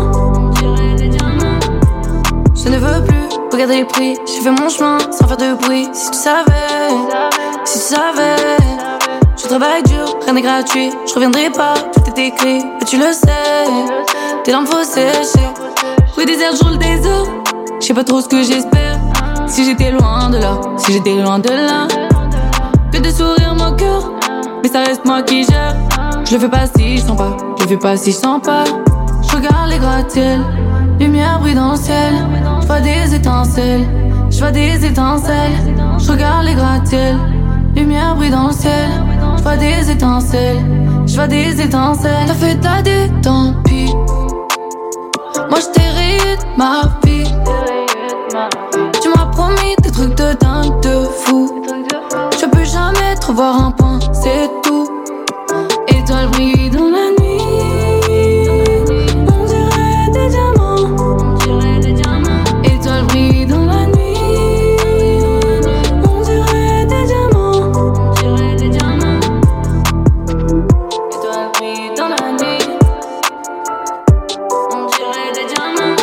Je ne veux plus regarder les prix. J'ai fait mon chemin sans faire de bruit. Si tu savais, si tu savais. Je travaille dur, rien n'est gratuit. Je reviendrai pas, tout est écrit. Et tu le sais, tes larmes faut sécher. Rue désert, je roule des eaux. Je sais pas trop ce que j'espère. Si j'étais loin de là, si j'étais loin de là. Que de sourire mon cœur, mais ça reste moi qui gère. Je le fais pas si je sens pas, je le fais pas si je sens pas. Je regarde les gratte-ciels, lumière brille dans le ciel. Je vois des étincelles, je vois des étincelles. Je regarde les gratte-ciels, lumière brille dans le ciel. Je vois des étincelles, je vois des étincelles. T'as fait de la dé, tant pis. Moi je t'ai rayé de ma vie. Tu m'as promis des trucs de dingue, de fou. Je peux jamais te revoir un point, c'est tout. Étoiles brillent dans la nuit. On dirait des diamants. Étoiles brillent dans la nuit. On dirait des diamants. Étoiles brillent dans la nuit. On dirait des diamants.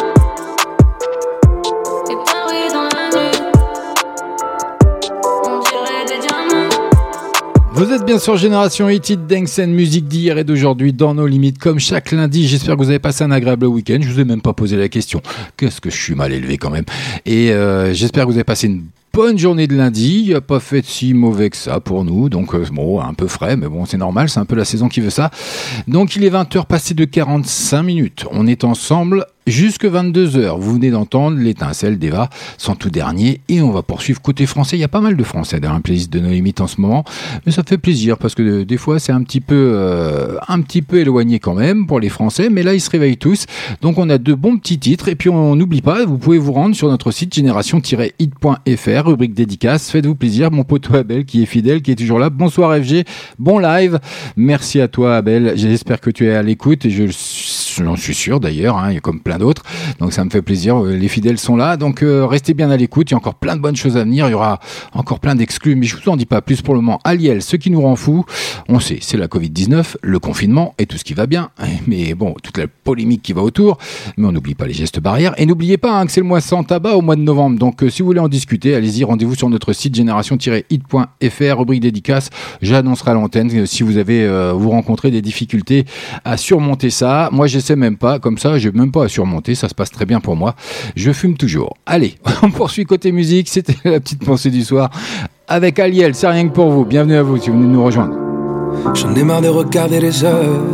Étoiles brillent dans la nuit. On dirait des diamants.
Vous êtes êtes bien sur Génération Hit, Hit Dance and Music d'hier et d'aujourd'hui dans nos limites comme chaque lundi. J'espère que vous avez passé un agréable week-end. Je vous ai même pas posé la question. Qu'est-ce que je suis mal élevé quand même. Et euh, j'espère que vous avez passé une bonne journée de lundi. Il n'a pas fait si mauvais que ça pour nous. Donc euh, bon, un peu frais, mais bon, c'est normal. C'est un peu la saison qui veut ça. Donc il est vingt heures passées de quarante-cinq minutes. On est ensemble jusque vingt-deux heures. Vous venez d'entendre l'étincelle d'Eva, son tout dernier, et on va poursuivre côté français. Il y a pas mal de français dans la playlist de nos limites en ce moment, mais ça fait plaisir parce que euh, des fois c'est un petit peu euh, un petit peu éloigné quand même pour les Français, mais là ils se réveillent tous. Donc on a de bons petits titres et puis on n'oublie pas, vous pouvez vous rendre sur notre site génération tiret hit point f r, rubrique dédicace. Faites-vous plaisir, mon poteau Abel qui est fidèle, qui est toujours là. Bonsoir F G, bon live. Merci à toi Abel. J'espère que tu es à l'écoute et je j'en suis sûr d'ailleurs, hein, il y a comme plein d'autres, donc ça me fait plaisir, les fidèles sont là, donc euh, restez bien à l'écoute, il y a encore plein de bonnes choses à venir, il y aura encore plein d'exclus, mais je vous en dis pas plus pour le moment. Aliel, ce qui nous rend fou, on sait, c'est la covid dix-neuf, le confinement et tout ce qui va bien, mais bon, toute la polémique qui va autour, mais on n'oublie pas les gestes barrières, et n'oubliez pas hein, que c'est le mois sans tabac au mois de novembre, donc euh, si vous voulez en discuter, allez-y, rendez-vous sur notre site génération tiret hit point f r, rubrique dédicace, j'annoncerai à l'antenne euh, si vous avez, euh, vous rencontrez des difficultés à surmonter ça. Moi j'essaie même pas, comme ça, j'ai même pas à surmonter, ça se passe très bien pour moi. Je fume toujours. Allez, on poursuit côté musique, c'était la petite pensée du soir avec Aliel, c'est rien que pour vous. Bienvenue à vous si vous venez nous rejoindre.
J'en ai marre de regarder les heures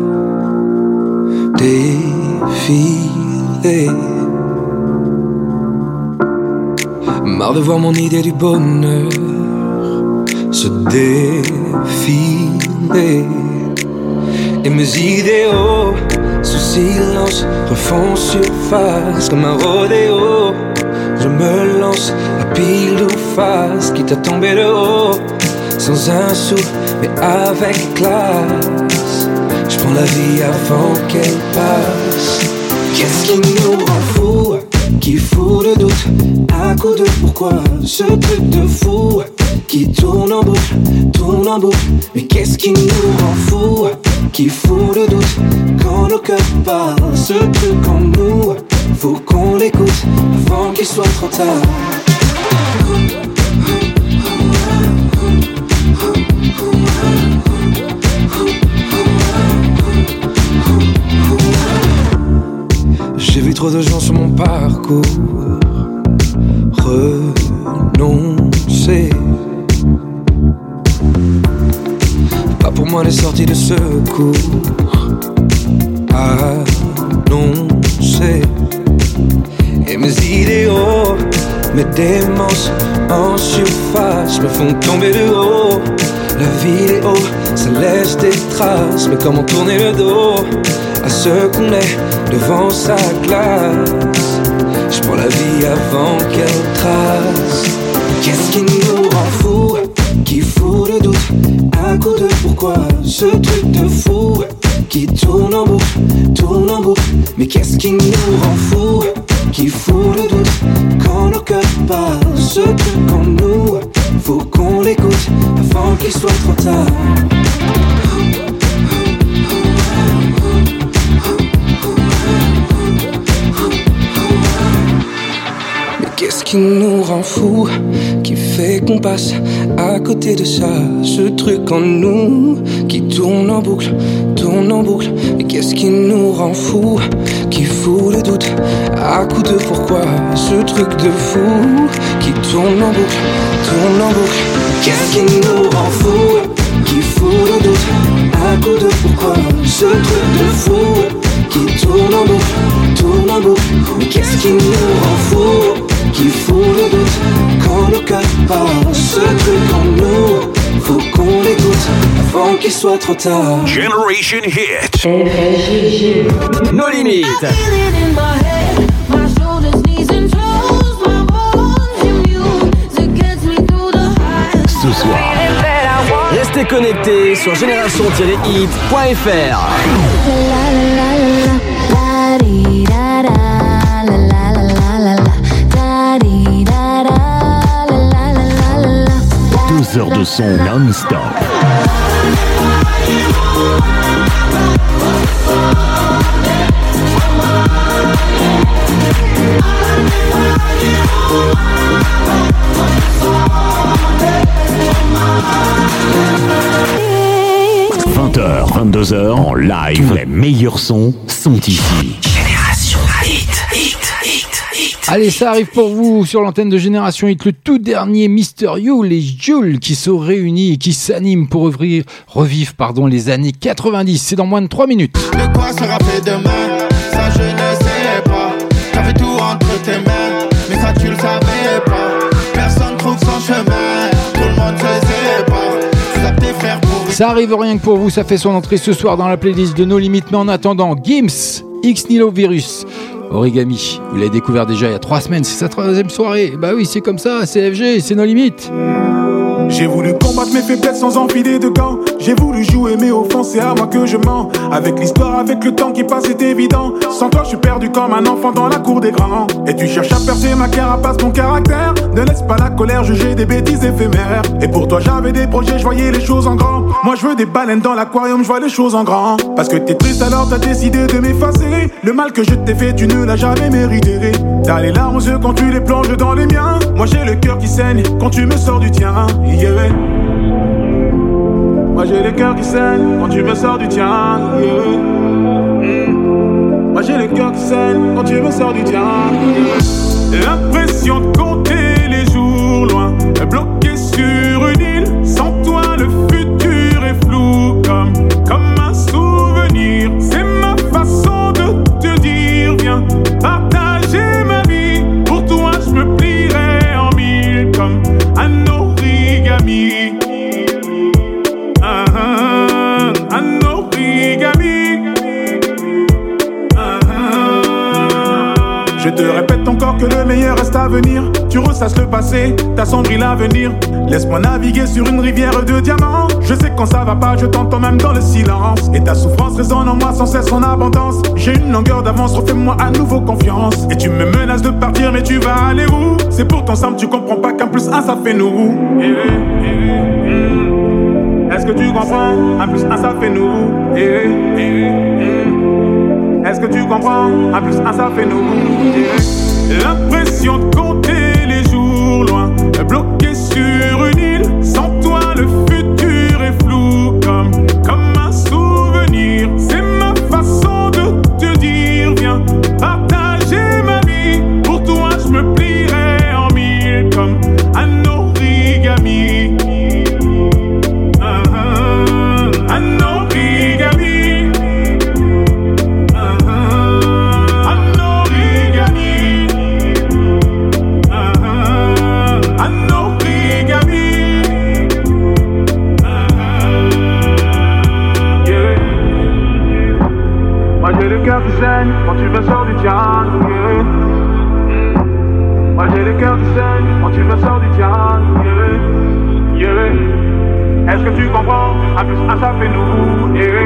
défiler, marre de voir mon idée du bonheur se défiler, et mes idéaux sous silence refont surface comme un rodéo. Je me lance à pile ou face, quitte à tomber de haut, sans un sou mais avec classe. Je prends la vie avant qu'elle passe. Qu'est-ce qui nous rend fous, qui fout le doute à coup de pourquoi, ce truc de fou qui tourne en boucle, tourne en boucle. Mais qu'est-ce qui nous rend fous, qui fout le doute quand nos cœurs parlent, ce truc en nous, faut qu'on l'écoute avant qu'il soit trop tard. J'ai vu trop de gens sur mon parcours renoncer. Pas pour moi les sorties de secours annoncées. Et mes idéaux, mes démences en surface me font tomber de haut. La vidéo, ça laisse des traces, mais comment tourner le dos à ce qu'on est devant sa glace. Je prends la vie avant qu'elle trace. Qu'est-ce qui nous rend fous, qui fout le doute à coup de pourquoi, ce truc de fou qui tourne en boucle, tourne en boucle. Mais qu'est-ce qui nous rend fous, qui fout le doute quand nos cœurs parlent, ce truc en nous, faut qu'on l'écoute avant qu'il soit trop tard. Qu'est-ce qui nous rend fous, qui fait qu'on passe à côté de ça, ce truc en nous qui tourne en boucle, tourne en boucle. Et qu'est-ce qui nous rend fous, qui fout le doute à coup de pourquoi, ce truc de fou qui tourne en boucle, tourne en boucle. Qu'est-ce qui nous rend fous, qui fout le doute à coup de pourquoi, ce truc de fou qui tourne en boucle, tourne en boucle. Mais qu'est-ce qui nous rend fous, qui fout le doute quand le cœur parle, ce truc en nous, faut qu'on l'écoute avant qu'il soit trop tard.
Generation Hit.
Nos limites.
Ce soir,
restez connectés sur génération tiret hit point f r.
deux heures de son non-stop. heures, vingt-deux heures, en live, tous les meilleurs sons sont ici.
Génération Hit, Hit, Hit, Hit.
Allez, ça arrive pour vous sur l'antenne de Génération Hit, le tout dernier Mister You, les Jules qui se réunissent et qui s'animent pour revivre, revivre pardon, les années quatre-vingt-dix. C'est dans moins de trois minutes.
De quoi sera fait demain? Ça je ne sais pas. T'avais tout entre tes mains, mais ça tu le savais pas. Personne trouve son chemin, tout le monde se sépare. Tu tapes tes frères pour...
Ça arrive rien que pour vous, ça fait son entrée ce soir dans la playlist de No Limit. Mais en attendant, Gims, X Nilo Virus, Origami, vous l'avez découvert déjà il y a trois semaines, c'est sa troisième soirée. Bah oui, c'est comme ça, c'est F G, c'est No Limit.
J'ai voulu combattre mes faiblesses sans enfiler de gants. J'ai voulu jouer mais au fond c'est à moi que je mens. Avec l'histoire, avec le temps qui passe c'est évident. Sans toi je suis perdu comme un enfant dans la cour des grands. Et tu cherches à percer ma carapace, mon caractère. Ne laisse pas la colère juger des bêtises éphémères. Et pour toi j'avais des projets, je voyais les choses en grand. Moi je veux des baleines dans l'aquarium, je vois les choses en grand. Parce que t'es triste alors t'as décidé de m'effacer. Le mal que je t'ai fait tu ne l'as jamais mérité. T'as les larmes aux yeux quand tu les plonges dans les miens. Moi j'ai le cœur qui saigne quand tu me sors du tien. Yeah. Moi j'ai le cœur qui saigne quand tu me sors du tien. Yeah. Mm. Moi j'ai le cœur qui saigne quand tu me sors du tien. Yeah. L'impression de compter les jours loin, bloqué sur une île. Sans toi le futur est flou comme, comme un souvenir. C'est ma façon de te dire viens partager ma vie. Pour toi je me plierai en mille comme un origami. Ah, ah, un origami. Ah, ah. Je te répète encore que le meilleur reste à venir. Tu ressasses le passé, t'assombris l'avenir. Laisse-moi naviguer sur une rivière de diamants. Je sais quand ça va pas, je t'entends même dans le silence. Et ta souffrance résonne en moi sans cesse en abondance. J'ai une longueur d'avance, refais-moi à nouveau confiance. Et tu me menaces de partir, mais tu vas aller où? C'est pourtant simple, tu comprends pas qu'un plus un ça fait nous. Eh, eh, eh. Est-ce que tu comprends? Un plus un ça fait nous. Eh, eh, eh. Est-ce que tu comprends? Un plus un ça fait nous. Eh. L'impression de compter les jours loin, bloqué sur une île. Sans toi le futur est flou comme, comme un souvenir. C'est ma façon de te dire viens partager ma vie. Pour toi je me plierai en mille comme un origami. Ah, ah, un origami. Ah, ah, un origami. Ah, ah, un origami. Ah, ah, yeah. Moi j'ai le cœur qui saigne quand tu me sors du tien. Yeah. Moi j'ai le cœur qui saigne quand tu me sors du tien. Yeah. Yeah. Est-ce que tu comprends? Un plus un ça fait nous. Yeah.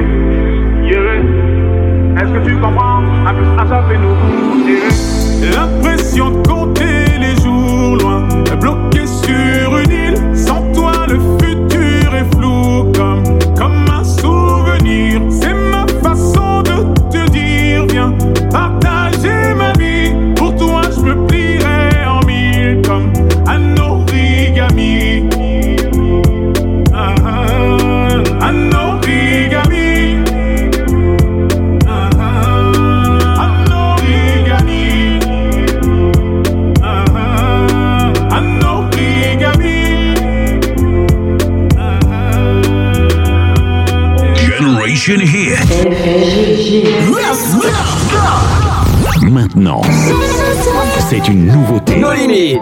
Yeah. Est-ce que tu comprends? Un plus un ça fait nous. Yeah. L'impression de compter les jours loin, bloqué sur une île. Sans toi le futur est flou comme, comme un souvenir. C'est ma façon de te dire viens partager ma vie. Pour toi je me plierai en mille comme un origami. Ah, ah, un origami. Ah, ah, un origami. Ah, ah, un origami. Ah, ah.
Generation Hit. Maintenant, c'est une nouveauté.
No Limit.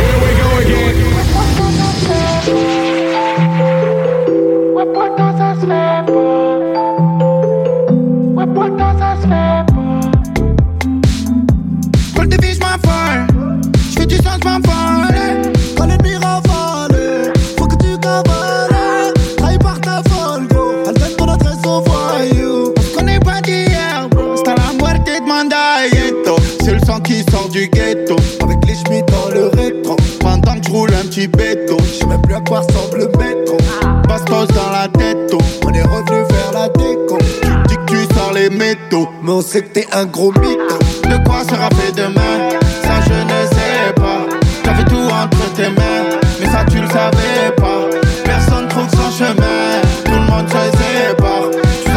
Paul de vie, je m'affole. Je fais du sang, je m'affole. Quand l'ennemi rafale, faut que tu cavales. Trahi par ta folle, go. Elle donne ton adresse au voyou. On connaît pas d'hier, bro. C'est à la muerte de Mandayeto. C'est le sang qui sort du ghetto. Avec les chemins dans le rétro. Pendant que je roule un petit béton. Je sais même plus à quoi ressemble le métro. Passe-pause dans la tête, oh. On est revenu vers la déco. Tu dis que tu sors les métaux, mais on sait que t'es un gros mytho. De quoi sera fait demain? Ça je ne sais pas. T'avais tout entre tes mains, mais ça tu le savais pas. Personne trouve son chemin, tout le monde se sépare. Tu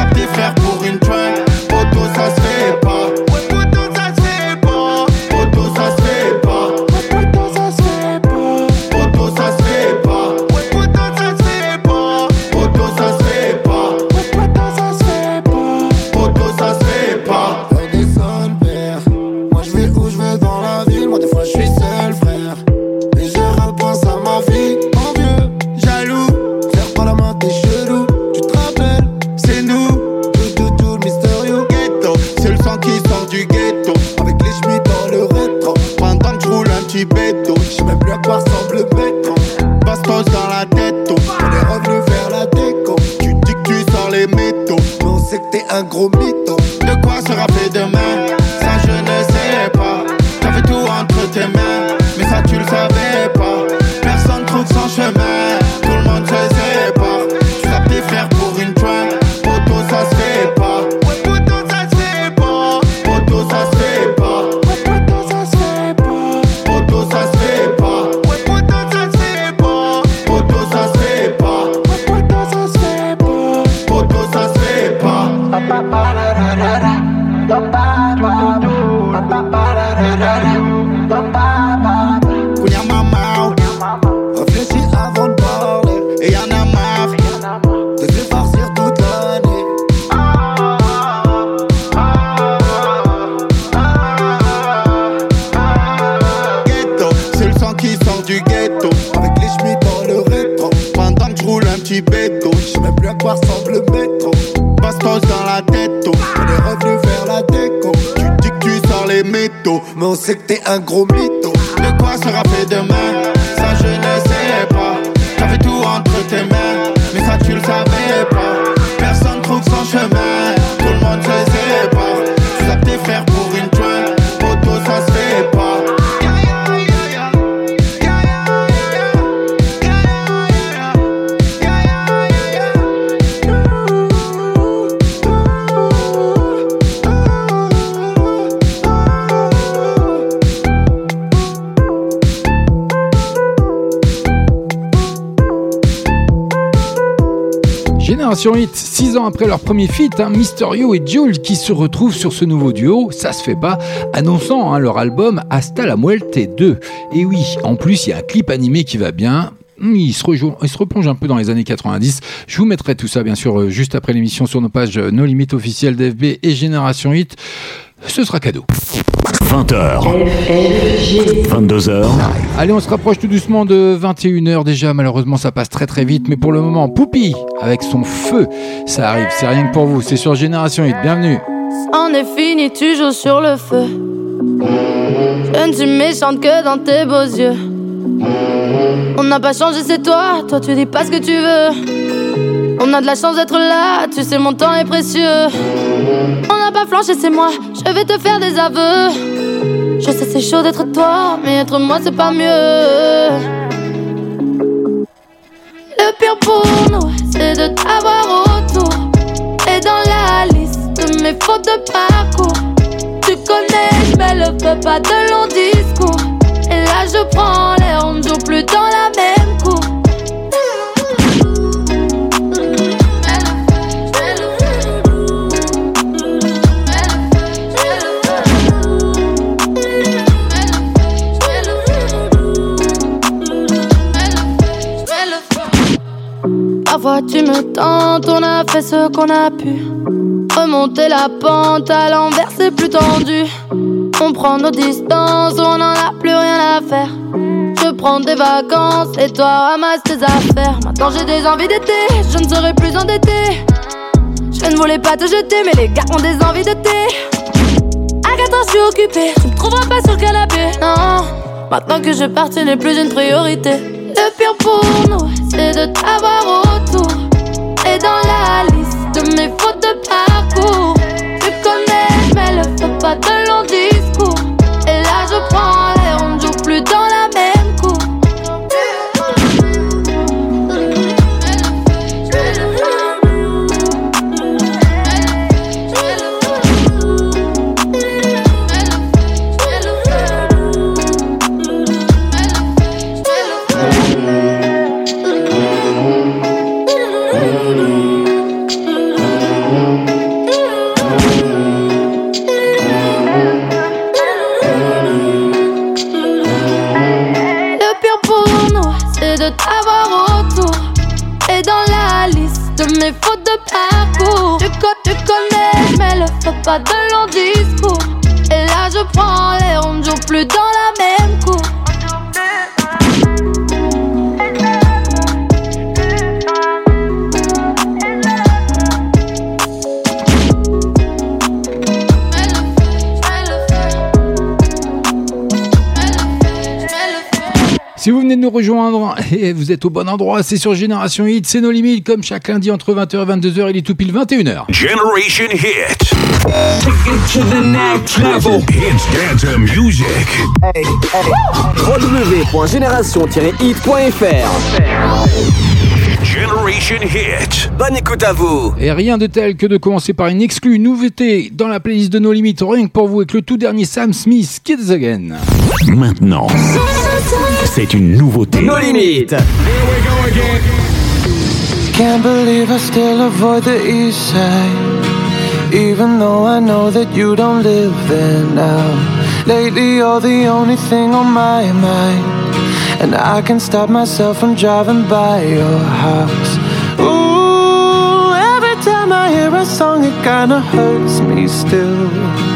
sait que t'es un gros mytho.
De quoi sera fait demain? Ça je ne sais pas. T'avais tout entre tes mains, mais ça tu le savais pas. Personne trouve son chemin, tout le monde se sépare. Tu tapes tes frères pour une joint, poto ça se fait pas. Poto ça se fait pas. Poto ça se fait pas. Poto ça se fait pas. Poto ça se fait pas. Poto ça se fait pas. Poto ça se fait pas. Poto ça se fait pas. Poto ça se fait pas.
Kounia maman, réfléchis avant de parler. Et y'en a marre de se farcir toute l'année.
Ghetto, c'est le sang qui sort du ghetto.
Avec les chemins dans le rétro.
Pendant que je roule un petit béto,
je sais même plus à quoi ressemble le métro.
Bastos dans la tête, oh.
On est revenu faire la déco.
Tu dis que tu sors les métaux,
mais on sait que t'es un gros mytho.
De quoi sera fait demain? Ça je ne sais pas. T'avais tout entre tes mains, mais ça tu le savais pas. Personne trouve son chemin, tout le monde se sépare. Tu tapes tes frères pour une joint, poto ça se fait pas.
Génération Hit, six ans après leur premier feat, hein, Mysterio et Jul qui se retrouvent sur ce nouveau duo, ça se fait pas, annonçant hein, leur album Hasta la Muerte deux. Et oui, en plus il y a un clip animé qui va bien. Il se, rejoue, il se replonge un peu dans les années quatre-vingt-dix. Je vous mettrai tout ça bien sûr juste après l'émission sur nos pages No Limit officielles d'F B et Génération Hit. Ce sera cadeau.
vingt heures, vingt-deux heures.
Allez, on se rapproche tout doucement de vingt et une heures déjà. Malheureusement, ça passe très très vite. Mais pour le moment, Poupie, avec son feu, ça arrive. C'est rien que pour vous. C'est sur Génération Hit. Bienvenue.
On est fini, tu joues sur le feu. Je ne suis méchante que dans tes beaux yeux. On n'a pas changé, c'est toi. Toi, tu dis pas ce que tu veux. On a de la chance d'être là. Tu sais, mon temps est précieux. On n'a pas flanché, c'est moi. Je vais te faire des aveux. Je sais, c'est chaud d'être toi, mais être moi, c'est pas mieux. Le pire pour nous, c'est de t'avoir autour. Et dans la liste de mes fautes de parcours, tu connais, je mets le feu, pas de long discours. Et là, je prends l'air, on ne joue plus dans la même cour. Parfois tu me tentes, on a fait ce qu'on a pu. Remonter la pente à l'envers c'est plus tendu. On prend nos distances, on n'en a plus rien à faire. Je prends des vacances et toi ramasse tes affaires. Maintenant j'ai des envies d'été, je ne serai plus endettée. Je ne voulais pas te jeter mais les gars ont des envies de thé. À quatre ans je suis occupée, tu me trouveras pas sur le canapé. Non, maintenant que je pars tu n'es plus une priorité. Le pire pour nous, c'est de t'avoir autour. Et dans la liste de mes fautes de parcours, tu connais, je mets le feu, pas de long discours. Et là je prends l'air, on ne joue plus dans la même cour. T'avoir autour. Et dans la liste de mes fautes de parcours, tu, co- tu connais, mais le feu, pas de long discours. Et là je prends l'air, on ne joue plus dans la même cour.
Si vous venez de nous nous rejoindre, et vous êtes au bon endroit, c'est sur Génération Hit, c'est nos limites, comme chaque lundi entre vingt heures et vingt-deux heures, il est tout pile vingt et une heures.
Generation Hit. Take it to the next level. It's dance music.
Hey, hey. w w w point génération tiret hit point f r.
Generation Hit.
Bonne écoute à vous.
Et rien de tel que de commencer par une exclue, une nouveauté dans la playlist de nos limites, rien que pour vous, avec le tout dernier Sam Smith, Kids Again.
Maintenant, c'est une nouveauté.
Nos limites. Here we go again.
Can't believe I still avoid the east side, even though I know that you don't live there now. Lately you're the only thing on my mind, and I can't stop myself from driving by your house. Ooh, every time I hear a song it kinda hurts me still.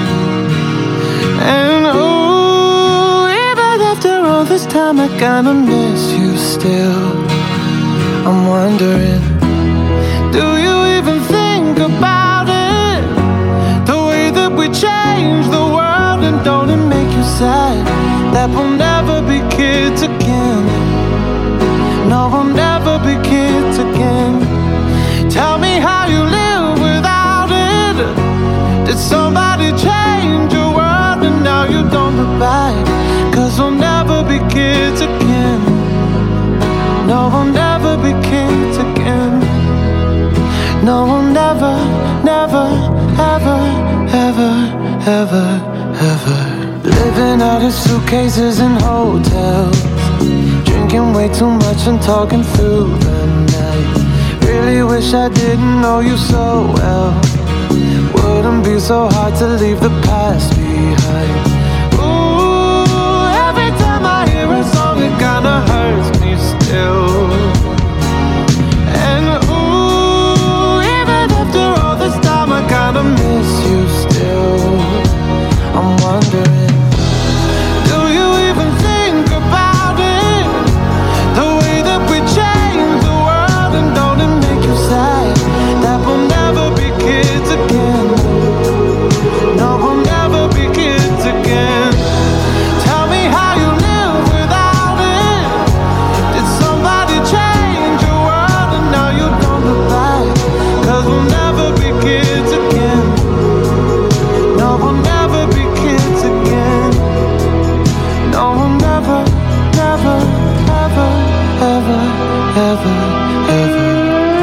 And ooh, even after all this time I kinda miss you still. I'm wondering, do you even think about it? The way that we change the world, and don't it make you sad that we'll never be kids again? No, we'll never be kids again. Tell me how you live without it. Did somebody change your world and now you don't look back? 'Cause we'll never be kids again. No, we'll never be kids again. No, we'll never, never, ever, ever, ever, ever. Living out of suitcases in hotels, drinking way too much and talking through the night. Really wish I didn't know you so well. Wouldn't be so hard to leave the past behind. Ooh, every time I hear a song it kinda hurts me still. And ooh, even after all this time I kinda miss you still. I'm wondering, do you even think about it? The way that we change the world, and don't it make you sad that we'll never be kids again? No, we'll never be kids again. Tell me how you live without it. Did somebody change your world and now you don't look back? 'Cause we'll never be kids again. No, we'll never be kids again. No, we'll never, never, ever, ever, ever, ever.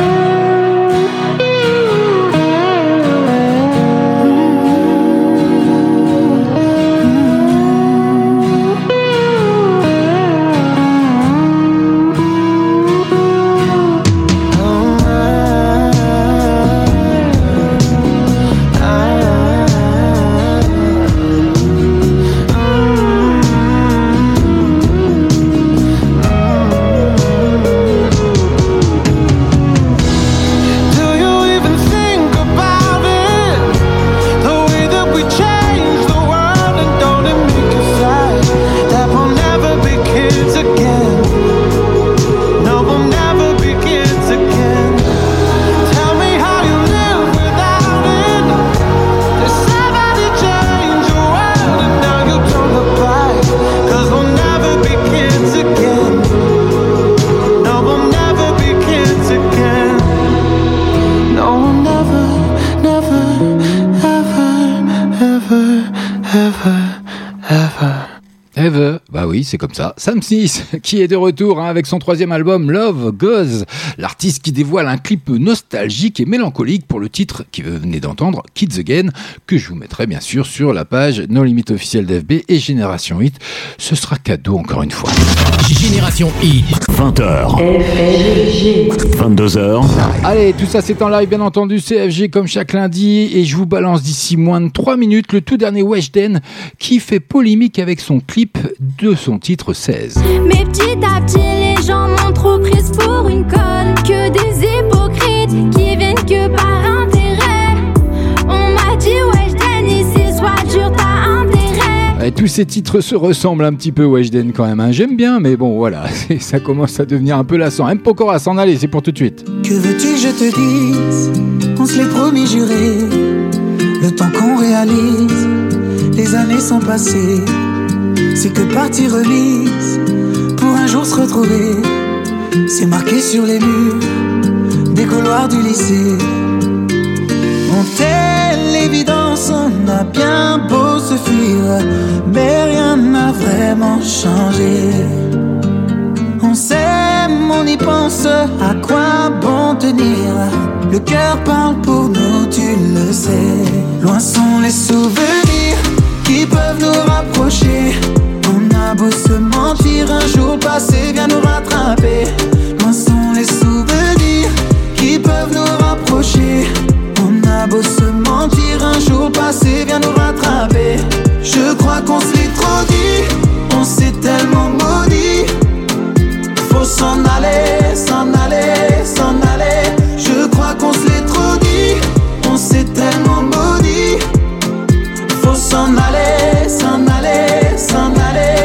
Bah oui, c'est comme ça. Sam Smith, qui est de retour hein, avec son troisième album Love Goes, l'artiste qui dévoile un clip nostalgique et mélancolique pour le titre qui venait d'entendre, Kids Again, que je vous mettrai bien sûr sur la page No Limit officielle d'F B et Génération Hit. Ce sera cadeau encore une fois.
Génération Hit.
vingt heures. vingt-deux heures.
Allez, tout ça c'est en live bien entendu, C F G comme chaque lundi, et je vous balance d'ici moins de trois minutes le tout dernier Weshden qui fait polémique avec son clip de son titre seize.
Mais petit à petit les gens m'ont trop prise pour une conne. Que des hypocrites qui viennent que par intérêt. On m'a dit Weshden ici sois dur t'as intérêt.
Et tous ces titres se ressemblent un petit peu Weshden quand même hein. J'aime bien mais bon voilà, ça commence à devenir un peu lassant. M. Pokora s'en aller, c'est pour tout de suite.
Que veux-tu que je te dise? On se l'est promis juré. Le temps qu'on réalise, les années sont passées. C'est que partie remise. Pour un jour se retrouver, c'est marqué sur les murs des couloirs du lycée. On telle l'évidence, on a bien beau se fuir, mais rien n'a vraiment changé. On s'aime, on y pense, à quoi bon tenir? Le cœur parle pour nous, tu le sais. Loin sont les souvenirs qui peuvent nous rapprocher. On a beau se mentir, un jour passé vient nous rattraper. Loin sont les souvenirs qui peuvent nous rapprocher. On a beau se mentir, un jour passé vient nous rattraper. Je crois qu'on se l'est trop dit, on s'est tellement maudit. Faut s'en aller, s'en aller, s'en aller. Je crois qu'on se l'est trop dit, on s'est tellement maudit. Faut s'en aller, s'en aller, s'en aller.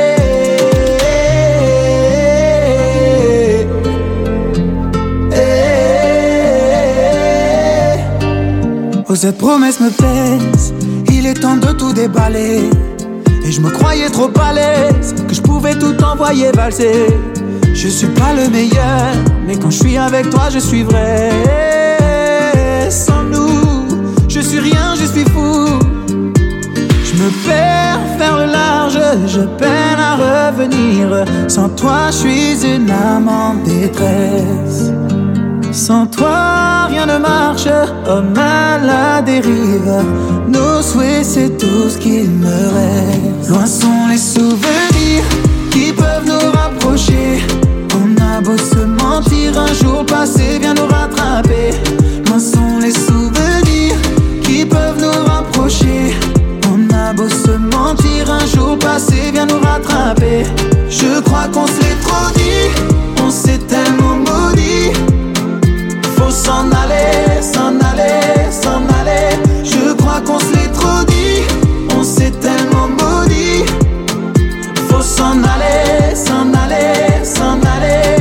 Oh, cette promesse me pèse, il est temps de tout déballer. Et je me croyais trop à l'aise, que je pouvais tout envoyer valser. Je suis pas le meilleur, mais quand je suis avec toi, je suis vrai. Sans nous, je suis rien, je suis fou. Je me perds faire le large, je peine à revenir. Sans toi, je suis une âme en détresse. Sans toi, rien ne marche, homme à la dérive. Nos souhaits, c'est tout ce qu'il me reste. Loin sont les souvenirs qui peuvent nous rapprocher. On a beau se mentir, un jour passé vient nous rattraper. Loin sont les souvenirs qui peuvent nous rapprocher. On a beau se mentir, un jour passé vient nous rattraper. Je crois qu'on se l'est trop dit, on s'est tellement maudit. Faut s'en aller, s'en aller, s'en aller. Je crois qu'on se l'est trop dit, on s'est tellement maudit. Faut s'en aller, s'en aller, s'en aller.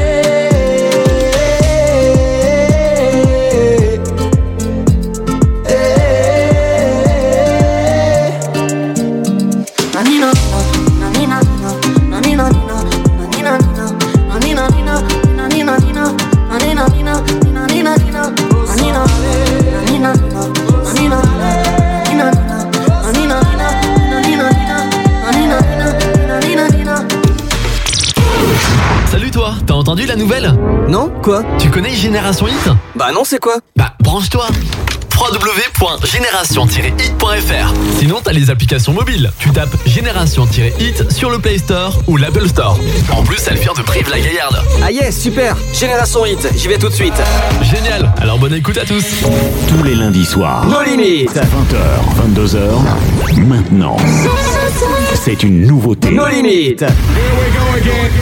Salut toi, t'as entendu la nouvelle?
Non, quoi?
Tu connais Génération Hit?
Bah non, c'est quoi?
Bah branche-toi w w w point génération tiret hit point f r. Sinon t'as les applications mobiles. Tu tapes Génération Hit sur le Play Store ou l'Apple Store. En plus elle vient de Brive-la-Gaillarde.
Ah yes, super. Génération Hit, j'y vais tout de suite.
Génial, alors bonne écoute à tous.
Tous les lundis soirs,
No limites.
vingt heures, vingt-deux heures, maintenant, c'est une nouveauté.
No limites.
Here we go again.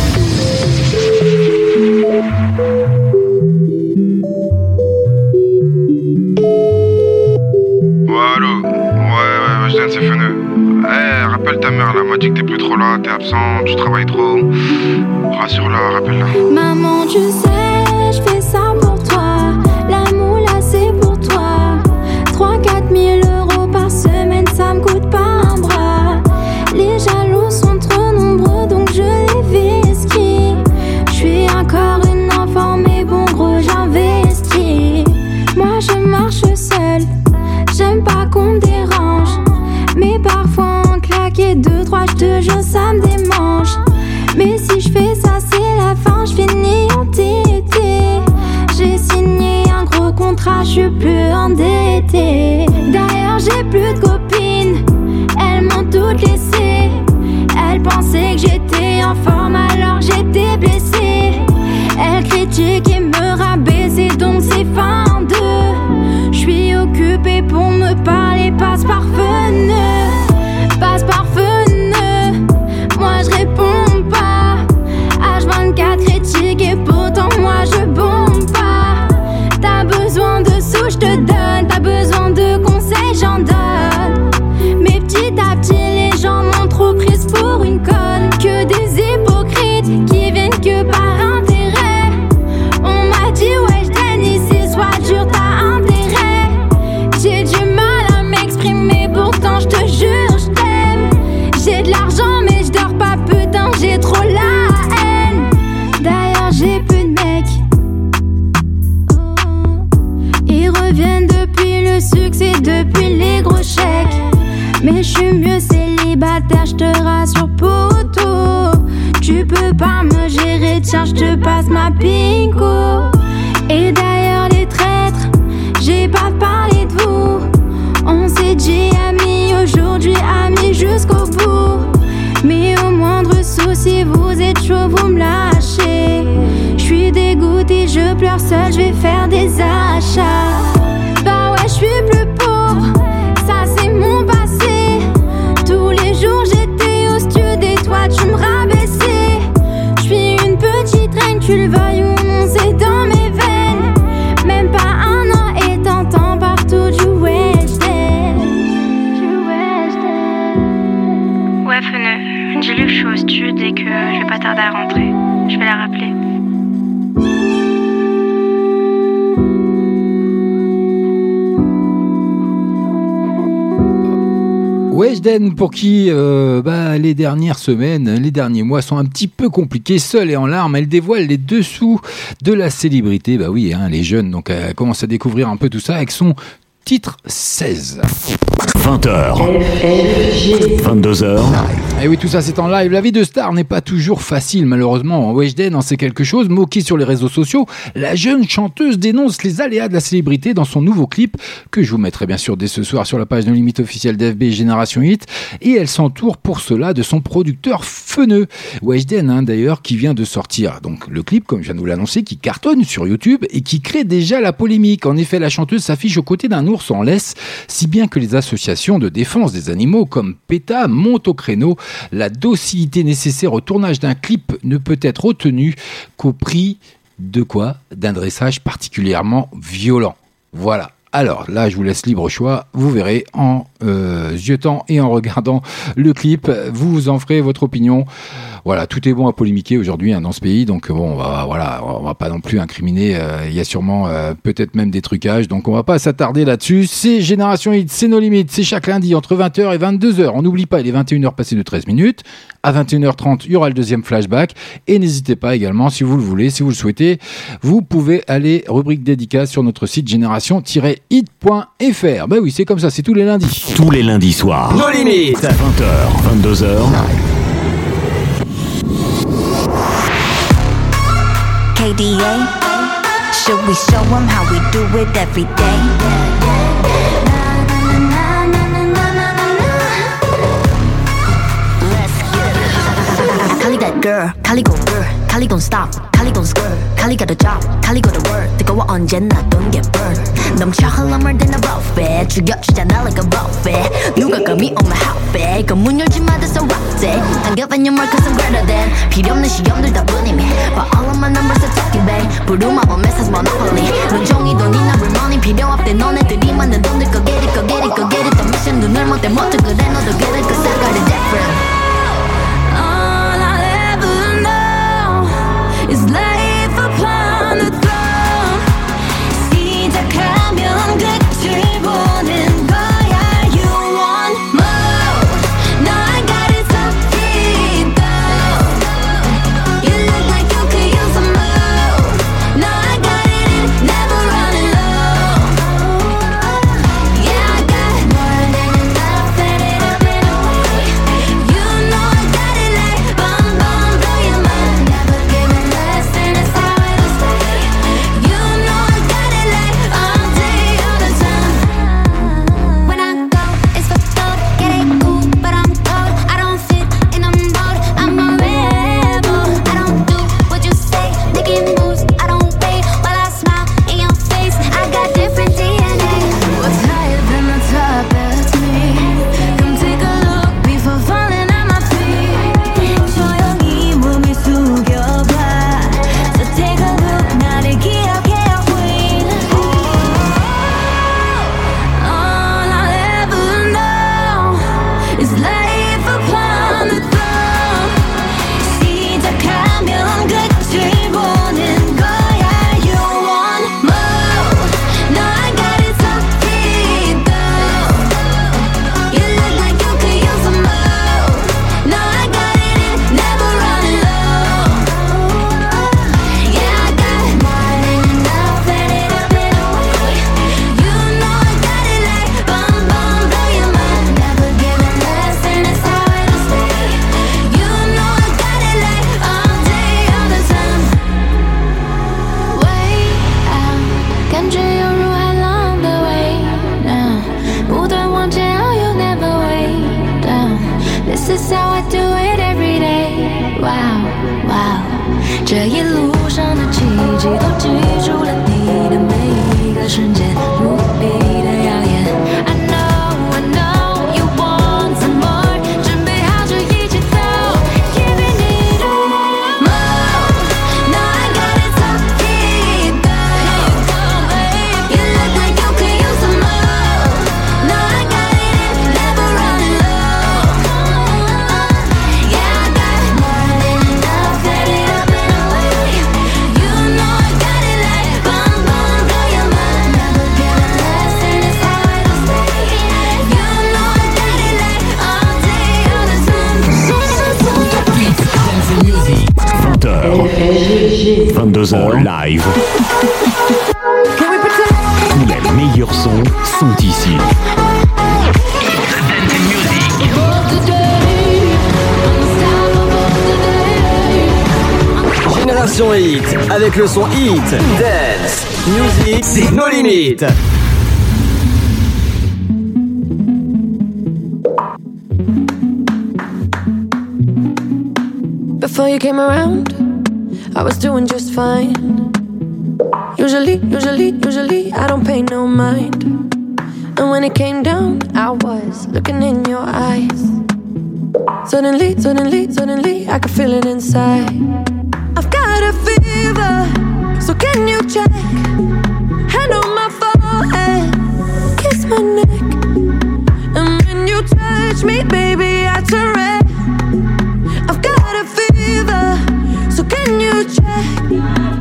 Allô, ouais, ouais, ouais, c'est fenu. Eh, rappelle ta mère, là, m'a dit que t'es plus trop là, t'es absent, tu travailles trop. Rassure-la, rappelle-la.
Maman, tu sais, je fais ça pour toi. L'amour là, c'est pour toi. trois à quatre mille euros par semaine, ça me coûte pas un bras. Les jaloux sont trop nombreux, donc je les vesquille. Je suis encore une enfant, mais bon, gros, j'investis. Moi, je marche seule. J'aime pas qu'on me dérange, mais parfois en claquer deux, trois, je te jure ça me démange. Mais si je fais ça c'est la fin, je finis entêtée. J'ai signé un gros contrat, je suis plus endettée. D'ailleurs j'ai plus de copines, elles m'ont toutes laissé. Elles pensaient que j'étais en forme alors j'étais blessée. Elles critiquent et me rabaissaient donc c'est fin de. Je suis occupée pour me parler, passe par fenêtre, passe par fenêtre. Moi je réponds pas, H vingt-quatre critique et pourtant moi je bombe pas. T'as besoin de sous, je te donne, t'as besoin de conseils, j'en donne. Mais petit à petit les gens m'ont trop prise pour une conne. Que des hypocrites qui viennent que par intérêt. On m'a dit ouais je t'aime ici, sois dur, t'as intérêt. J'ai du mal à m'exprimer, pourtant je te jure je t'aime. J'ai de l'argent mais je dors pas, putain j'ai trop la haine. Mais je suis mieux célibataire, je te rassure poto. Tu peux pas me gérer, tiens je te passe ma pinko. Et d'ailleurs les traîtres, j'ai pas parlé de vous. On s'est dit amis, aujourd'hui amis jusqu'au bout. Mais au moindre souci, vous êtes chaud, vous me lâchez. J'suis dégoûtée, je pleure seule, j'vais faire des achats. Bah ouais, j'suis plus pauvre, ça c'est mon passé. Tous les jours j'étais au stud et toi tu me rabaissais. J'suis une petite reine, tu le veuilles ou non, c'est dans mes veines. Même pas un an et t'entends partout du Weshden.
Ouais, Feneux, dis-lui que je suis au stud et que je vais pas tarder à rentrer. Je vais la rappeler.
Weshden, pour qui euh, bah, les dernières semaines, les derniers mois sont un petit peu compliqués, seule et en larmes, elle dévoile les dessous de la célébrité. Bah oui, hein, les jeunes, donc elle commence à découvrir un peu tout ça avec son titre seize.
vingt heures. vingt-deux heures.
Et oui, tout ça c'est en live. La vie de star n'est pas toujours facile, malheureusement. Weshden en sait quelque chose. Moquée sur les réseaux sociaux, la jeune chanteuse dénonce les aléas de la célébrité dans son nouveau clip, que je vous mettrai bien sûr dès ce soir sur la page No Limit officielle d'F B Génération Hit. Et elle s'entoure pour cela de son producteur Feneux. Weshden, hein, d'ailleurs, qui vient de sortir donc le clip, comme je viens de vous l'annoncer, qui cartonne sur YouTube et qui crée déjà la polémique. En effet, la chanteuse s'affiche aux côtés d'un ours en laisse, si bien que les associations de défense des animaux comme PETA montent au créneau. La docilité nécessaire au tournage d'un clip ne peut être obtenue qu'au prix de quoi ? D'un dressage particulièrement violent. Voilà. Alors là, je vous laisse libre choix. Vous verrez en euh, ziotant et en regardant le clip. Vous vous en ferez votre opinion. Voilà, tout est bon à polémiquer aujourd'hui hein, dans ce pays. Donc bon, on va, voilà, on va pas non plus incriminer. Euh, il y a sûrement euh, peut-être même des trucages. Donc on va pas s'attarder là-dessus. C'est Génération Hit, c'est No Limit. C'est chaque lundi entre vingt heures et vingt-deux heures. On n'oublie pas, il est vingt et une heures passées de treize minutes. À vingt et une heures trente, il y aura le deuxième flashback. Et n'hésitez pas également, si vous le voulez, si vous le souhaitez, vous pouvez aller rubrique dédicace sur notre site génération tiret hit point f r. Ben oui, c'est comme ça, c'est tous les lundis.
Tous les lundis soirs.
No Limit.
vingt heures, vingt-deux heures.
K D A, should we show them how we do it every day? Kali that girl, Kali go girl, Kali gon' stop, Kali gon' skirt, Kali got a job, Kali got a word. 뜨거워 언제나 don't get burned. 넘쳐 흘러물 든 a buffet, 죽여주잖아 like a buffet. 누가 감히 on my outfit, 그 문 열지 마 that's a rock day. I'm giving you more cause I'm greater than. 필요 없는 시험들 다 뿐이미. But all of my numbers are talking bang. 부루마법 message monopoly. 눈종이 돈이나 real money 필요 없대. 너네들이 만든 돈들 go get it, go get it, go get it. 더 미션 눈을 못 떼 못해 그래 너도 get it cause I got it different.
It's life upon the throne. 시작하면 끝을 보는 거야. You want more? No, I got it so deep down. You look like you could use some more. No, I got it in, never running low. Yeah, I got more than enough, set it up in a way. You know I got it like bum bum, blow your mind. Never giving less than it's how it'll stay. You know I got it like all day, all the time. When I go, it's for gold. Get it cool, but I'm cold. I don't fit in a mold. I'm a rebel. I don't do what you say. Making moves, I don't wait while I smile in your face. I got different D N A. What's higher than the top? That's me. Come take a look before falling at my feet. 조용히 몸을 숙여봐. So take a look, 나를 기억해, queen. All I'll ever know is life upon the throne. 시작하면 끝을 보는 거야. You want more? No, I got it so deep down. You look like you could use some more. No, I got it in, never running low. Yeah, I got more than enough, set it up in a way. You know I got it like bum bum, blow your mind. Never giving
vingt-deux heures live. Tous les meilleurs sons sont ici.
Génération Hit, avec le son Hit, Dance, Music, c'est nos limites.
Before you came around, I was doing just fine. Usually, usually, usually, I don't pay no mind. And when it came down, I was looking in your eyes. Suddenly, suddenly, suddenly, I could feel it inside. I've got a fever, so can you check? Hand on my forehead, kiss my neck. And when you touch me, baby, I turn red. I've got a fever, so can you check?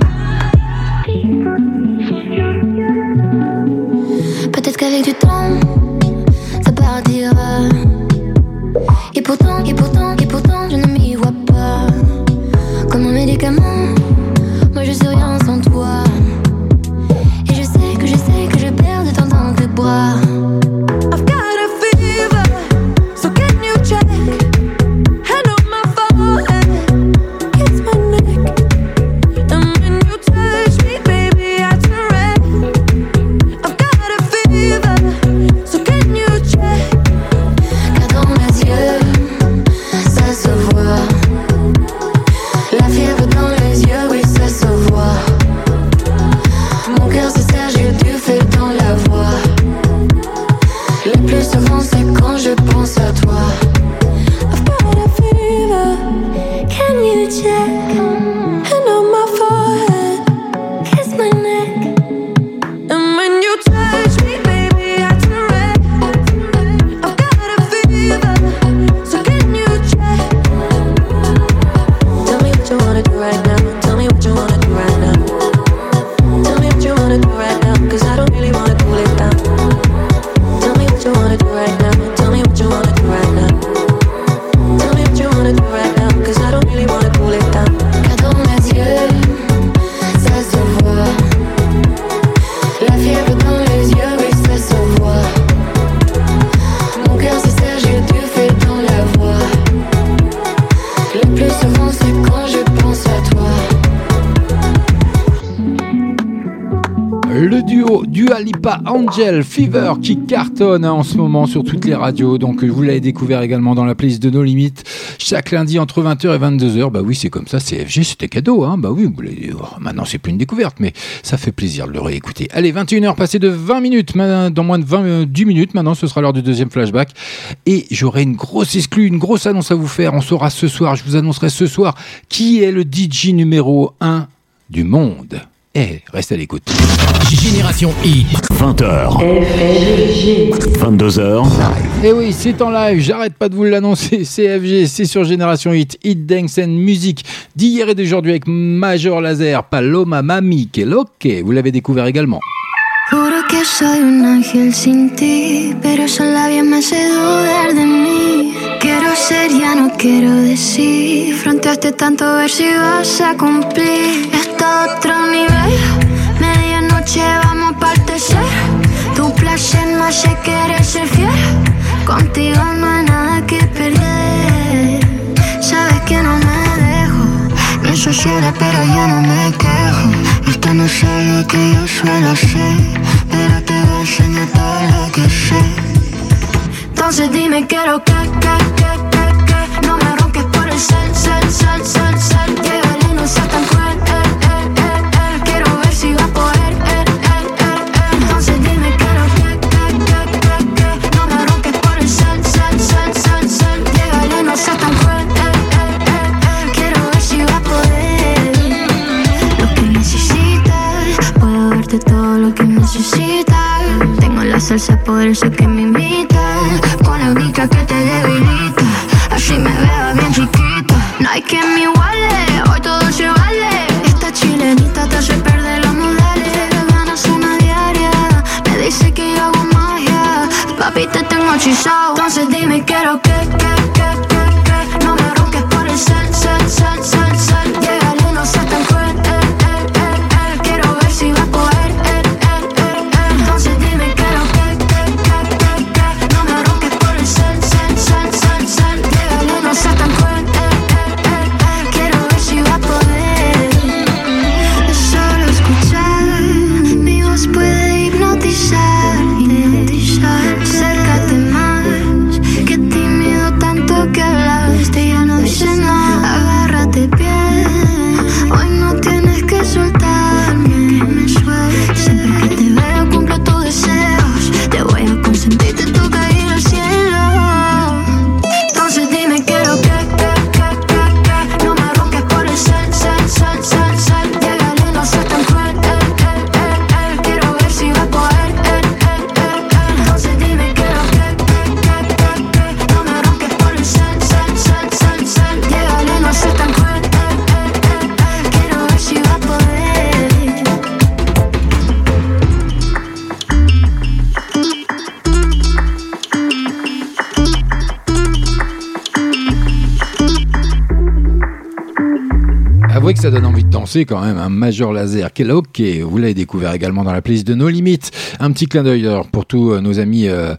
Peut-être qu'avec du temps, ça partira. Et pourtant, et pourtant, et pourtant, je ne m'y vois pas. Comme un médicament, moi je suis rien sans toi. Et je sais que je sais que je perds de temps dans tes bras.
I've got a fever, so can you check? Hand on my forehead, kiss my neck. And when you touch me, baby, I turn red. I've got a fever, so can you check?
Car dans mes yeux, ça se voit. La fièvre dans les yeux, oui, ça se voit. Mon cœur se serre, j'ai du feu dans la voix. Le plus souvent, c'est quand je pense à toi.
I've got a fever,
Can you check?
hand on my forehead,
Kiss my neck.
and when you touch me, baby, I turn red. I've got a fever, so can you check? Tell me what you wanna do right now. Tell me what you wanna do right now. Tell me what you wanna do right now, 'cause I don't really wanna cool it down. Tell me what you wanna do right now. Tell me what you wanna do right now. Tell me what you wanna do right now, 'cause I don't really wanna cool it down.
Car dans mes yeux, ça se voit. La fièvre dans les yeux, oui, ça se voit. Mon cœur se serre, j'ai du feu dans la voix. Le plus souvent, c'est quand je pense à toi.
Le duo Dua Lipa Angel Fever qui cartonne hein, en ce moment sur toutes les radios. Donc vous l'avez découvert également dans la playlist de No Limites chaque lundi entre vingt heures et vingt-deux heures. Bah oui, c'est comme ça, C F G, c'était cadeau hein. Bah oui, vous l'avez... oh, maintenant c'est plus une découverte, mais ça fait plaisir de le réécouter. Allez, vingt et une heures passées de vingt minutes, dans moins de vingt, euh, dix minutes maintenant, ce sera l'heure du deuxième flashback. Et j'aurai une grosse exclue, une grosse annonce à vous faire. On saura ce soir, je vous annoncerai ce soir qui est le D J numéro un du monde. Eh, reste à l'écoute.
Génération Hit.
vingt heures. vingt-deux heures.
Et oui, c'est en live, j'arrête pas de vous l'annoncer. C F G, c'est sur Génération Hit, Hit Dance and Music d'hier et d'aujourd'hui avec Major Lazer, Paloma Mami, que loque. Vous l'avez découvert également.
Juro que soy un ángel sin ti, pero esos labios me hacen dudar de mí. Quiero ser, ya no quiero decir. Fronteaste tanto a ver si vas a cumplir. Esto a otro nivel, medianoche vamos pa'l tercer. Tu placer me hace querer ser fiel. Contigo no hay nada que perder. Sabes que no me dejo. Me ensuciaré pero ya no me quejo. Esto no es algo que yo suelo hacer, pero te voy a enseñar todo lo que sé. Entonces dime quiero que, que, que, que, que no me ronques por el cel, cel, cel, cel, cel. Llegale, no seas tan cruel, eh, eh, eh, eh. Quiero ver si va a poder, eh, eh, eh, eh. Entonces dime quiero que, que, que, que, que no me ronques por el cel, cel, cel, cel, cel. Llegale, no seas tan cruel, eh, eh, eh, eh. Quiero ver si va a poder. Lo que necesitas, puedo darte todo lo que necesitas. Tengo la salsa, por eso que me imitas. Con la única que te debilita, así me veo bien chiquita. No hay quien me iguale, hoy todo se vale. Esta chilenita te hace perder los modales. Ganas una diaria, me dice que yo hago magia. Papi, te tengo hechizado. Entonces dime quiero que, que, que, que, que no me ronques por el cel, cel, cel, cel, cel. Llegale, no seas tan cruel, eh, eh,
vrai que ça donne envie de danser quand même, un Major Lazer. Quel ok, vous l'avez découvert également dans la playlist de No Limit. Un petit clin d'œil alors pour tous euh, nos amis euh,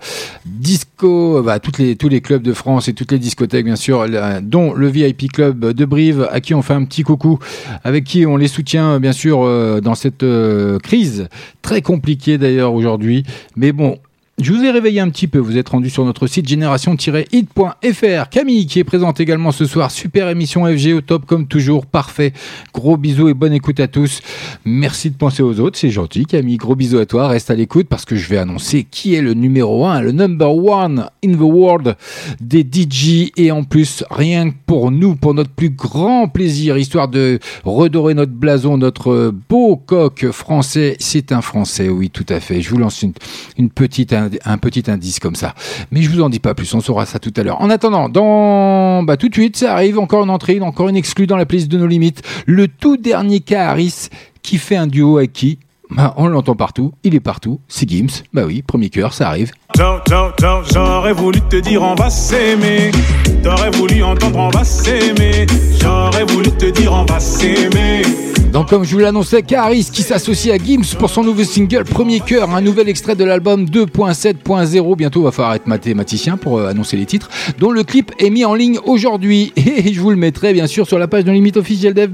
disco, bah, toutes les, tous les clubs de France et toutes les discothèques bien sûr, là, dont le V I P Club de Brive, à qui on fait un petit coucou, avec qui on les soutient bien sûr euh, dans cette euh, crise très compliquée d'ailleurs aujourd'hui. Mais bon, je vous ai réveillé un petit peu, vous êtes rendu sur notre site génération tiret hit point f r. Camille qui est présente également ce soir, super émission F G au top comme toujours, parfait. Gros bisous et bonne écoute à tous. Merci de penser aux autres, c'est gentil Camille, gros bisous à toi, reste à l'écoute parce que je vais annoncer qui est le numéro un, le number one in the world des D J et en plus rien que pour nous, pour notre plus grand plaisir, histoire de redorer notre blason, notre beau coq français, c'est un français, oui tout à fait, je vous lance une, une petite un petit indice comme ça. Mais je vous en dis pas plus, on saura ça tout à l'heure. En attendant, dans bah tout de suite, ça arrive, encore une entrée, encore une exclue dans la playlist de No Limit. Le tout dernier cas Harris qui fait un duo avec qui bah, on l'entend partout, il est partout, c'est Gims. Bah oui, premier cœur, ça arrive.
J'aurais voulu te dire on va s'aimer. T'aurais voulu entendre on va s'aimer. J'aurais voulu te dire on va s'aimer.
Donc comme je vous l'annonçais, Karis qui s'associe à Gims pour son nouveau single Premier Cœur, un nouvel extrait de l'album deux point sept point zéro. Bientôt va falloir être mathématicien pour euh, annoncer les titres, dont le clip est mis en ligne aujourd'hui. Et je vous le mettrai bien sûr sur la page de Limite officielle d'F B.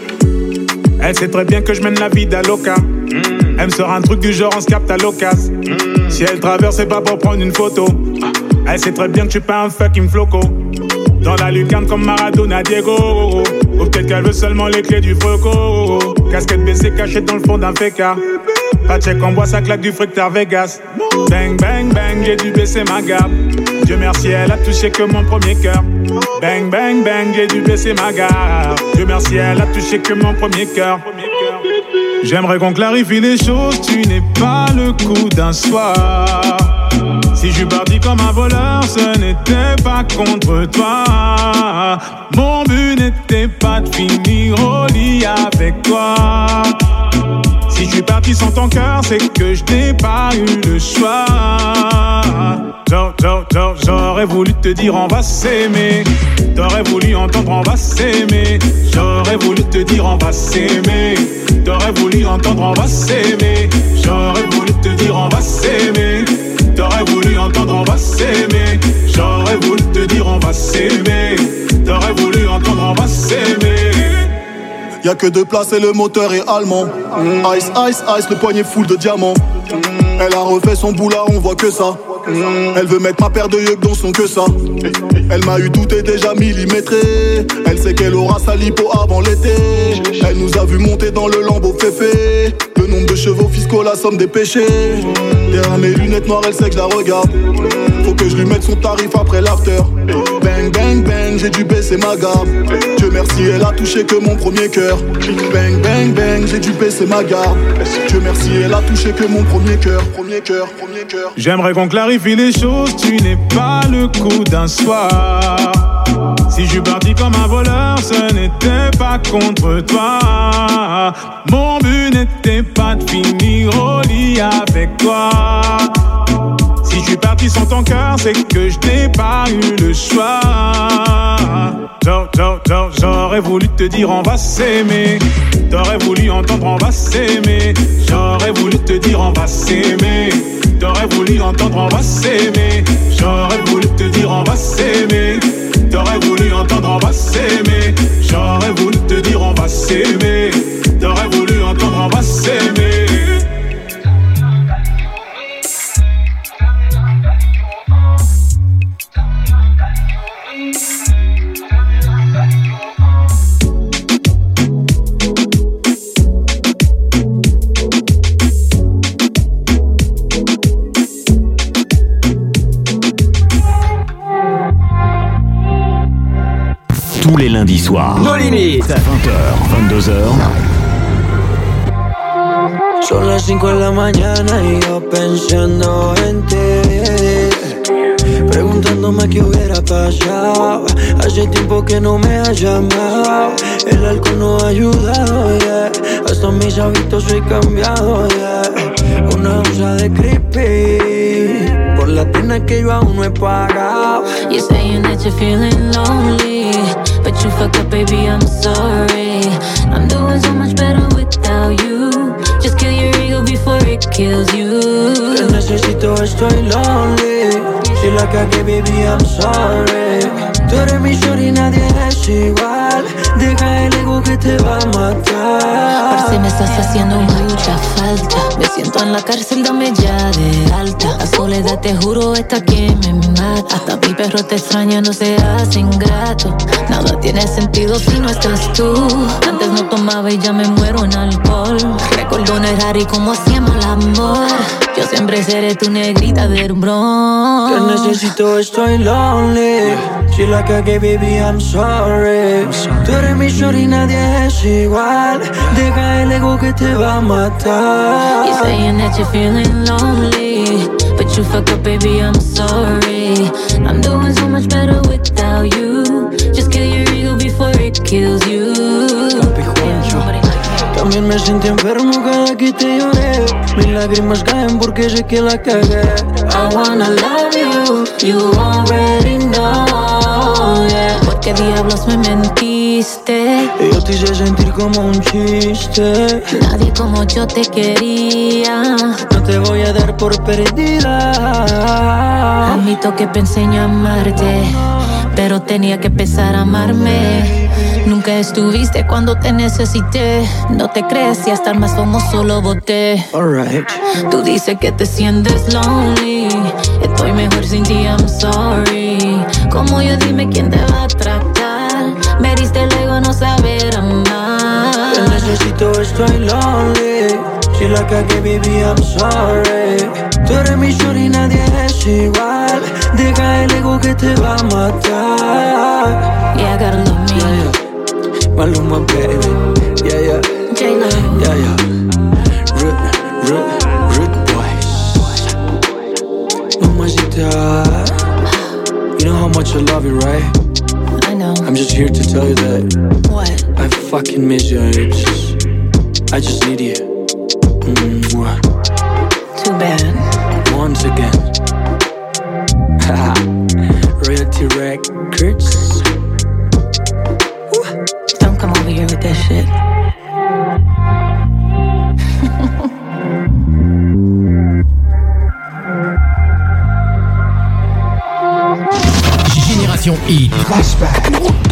Elle sait très bien que je mène la vie d'Aloca. Mmh. Elle me sort un truc du genre on se capte à l'occasion. Mmh. Si elle traverse, c'est pas pour prendre une photo. Elle sait très bien que je suis pas un fucking floco. Dans la lucarne comme Maradona Diego. Ou peut-être qu'elle veut seulement les clés du Froco. Casquette baissée cachée dans le fond d'un féca. Pas de chèque en bois, ça claque du fructeur Vegas. Bang bang bang, j'ai dû baisser ma gamme. Dieu merci, elle a touché que mon premier cœur. Bang bang bang, j'ai dû baisser ma gamme. Dieu merci, elle a touché que mon premier cœur. J'aimerais qu'on clarifie les choses, tu n'es pas le coup d'un soir. Si je suis parti comme un voleur, ce n'était pas contre toi. Mon but n'était pas de finir au lit avec toi. Si je suis parti sans ton cœur, c'est que je n'ai pas eu le choix. J'aurais voulu te dire on va s'aimer. T'aurais voulu entendre on va s'aimer. J'aurais voulu te dire on va s'aimer. T'aurais voulu entendre on va s'aimer. J'aurais voulu te dire on va s'aimer. T'aurais voulu entendre on va s'aimer. J'aurais voulu te dire on va s'aimer. T'aurais voulu entendre on va s'aimer.
Y'a que deux places et le moteur est allemand. Ice, ice, ice, le poignet full de diamants. Elle a refait son bout là, on voit que ça. Elle veut mettre ma paire de yeux dans son que ça. Elle m'a eu tout est déjà millimétré. Elle sait qu'elle aura sa lipo avant l'été. Elle nous a vu monter dans le lambeau féfé. Le nombre de chevaux fiscaux, la somme des péchés. Derrière mes lunettes noires, elle sait que je la regarde. Faut que je lui mette son tarif après l'after. Bang bang bang, j'ai dû baisser ma garde. Dieu merci, elle a touché que mon premier cœur. Bang bang bang, j'ai dû baisser ma garde. Dieu merci, elle a touché que mon premier cœur. Premier cœur, premier cœur.
J'aimerais qu'on clarifie les choses, tu n'es pas le coup d'un soir. Si je suis parti comme un voleur, ce n'était pas contre toi. Mon but n'était pas de finir au lit avec toi. Si je suis parti sans ton cœur, c'est que je n'ai pas eu le choix. J'aurais voulu te dire on va s'aimer. T'aurais voulu entendre on va s'aimer. J'aurais voulu te dire on va s'aimer. T'aurais voulu entendre on va s'aimer. J'aurais voulu te dire on va s'aimer. T'aurais voulu entendre on va s'aimer. J'aurais voulu te dire on va s'aimer. T'aurais voulu entendre on va s'aimer.
Tous les lundis soirs.
No Limit.
vingt heures, vingt-deux heures.
Son las cinco de la mañana y yo pensando en ti, preguntándome qué hubiera pasado. Hace tiempo que no me has llamado. El alcohol no ha ayudado, yeah. Hasta mis hábitos he cambiado, yeah. Una onza de creepy por la pena que yo aún no he pagado.
You're saying that you're feeling lonely, but you fucked up, baby, I'm sorry. I'm doing so much better without you. Just kill your ego before it kills you.
Te necesito, estoy lonely. Si la cagué, baby, I'm sorry. Tú eres mi shorty, nadie es igual. Deja el ego que te va a matar.
Parce, me estás haciendo mucha falta. Me siento en la cárcel, dame ya de alta. La soledad, te juro, esta que me mata. Hasta mi perro te extraña, no seas ingrato. Nada tiene sentido si no estás tú. Antes no tomaba y ya me muero en alcohol. Recuerdo un Ferrari como hacíamos el amor. Yo siempre seré tu negrita del bron.
Te necesito, estoy lonely. Si la cagué, baby, I'm sorry. Tú eres mi shorty, nadie es igual. Deja el ego que te va a matar.
You're saying that you're feeling lonely, but you fucked up, baby, I'm sorry. I'm doing so much better without you. Just kill your ego before it kills you.
También me sentí enfermo cada que te lloré. Mis lágrimas caen porque sé que la cagué.
I wanna love you, you already know, yeah. ¿Por qué diablos me mentiste?
Yo te hice sentir como un chiste.
Nadie como yo te quería.
No te voy a dar por perdida.
Admito que pensé en amarte, pero tenía que empezar a amarme. Nunca estuviste cuando te necesité. No te crees y hasta el más famoso lo boté.
Alright.
Tú dices que te sientes lonely. Estoy mejor sin ti, I'm sorry. Como yo, dime quién te va a tratar. Me diste el ego, no saber amar.
Te necesito, estoy lonely. Si la cagué, baby, I'm sorry. Tú eres mi shorty, nadie es igual. Deja el ego que te va a matar.
Yeah, I gotta love me.
Yeah, yeah. Maluma, baby. Yeah, yeah.
J-Lo.
Yeah, yeah. Rude, rude, rude boys. Mamacita. You know how much I love you, right?
I know.
I'm just here to tell you that.
What?
I fucking miss you. I just, I just need you. Mwah.
Too bad.
Once again. Royalty Records.
Don't come over here with that shit.
Génération Hit.
Flashback.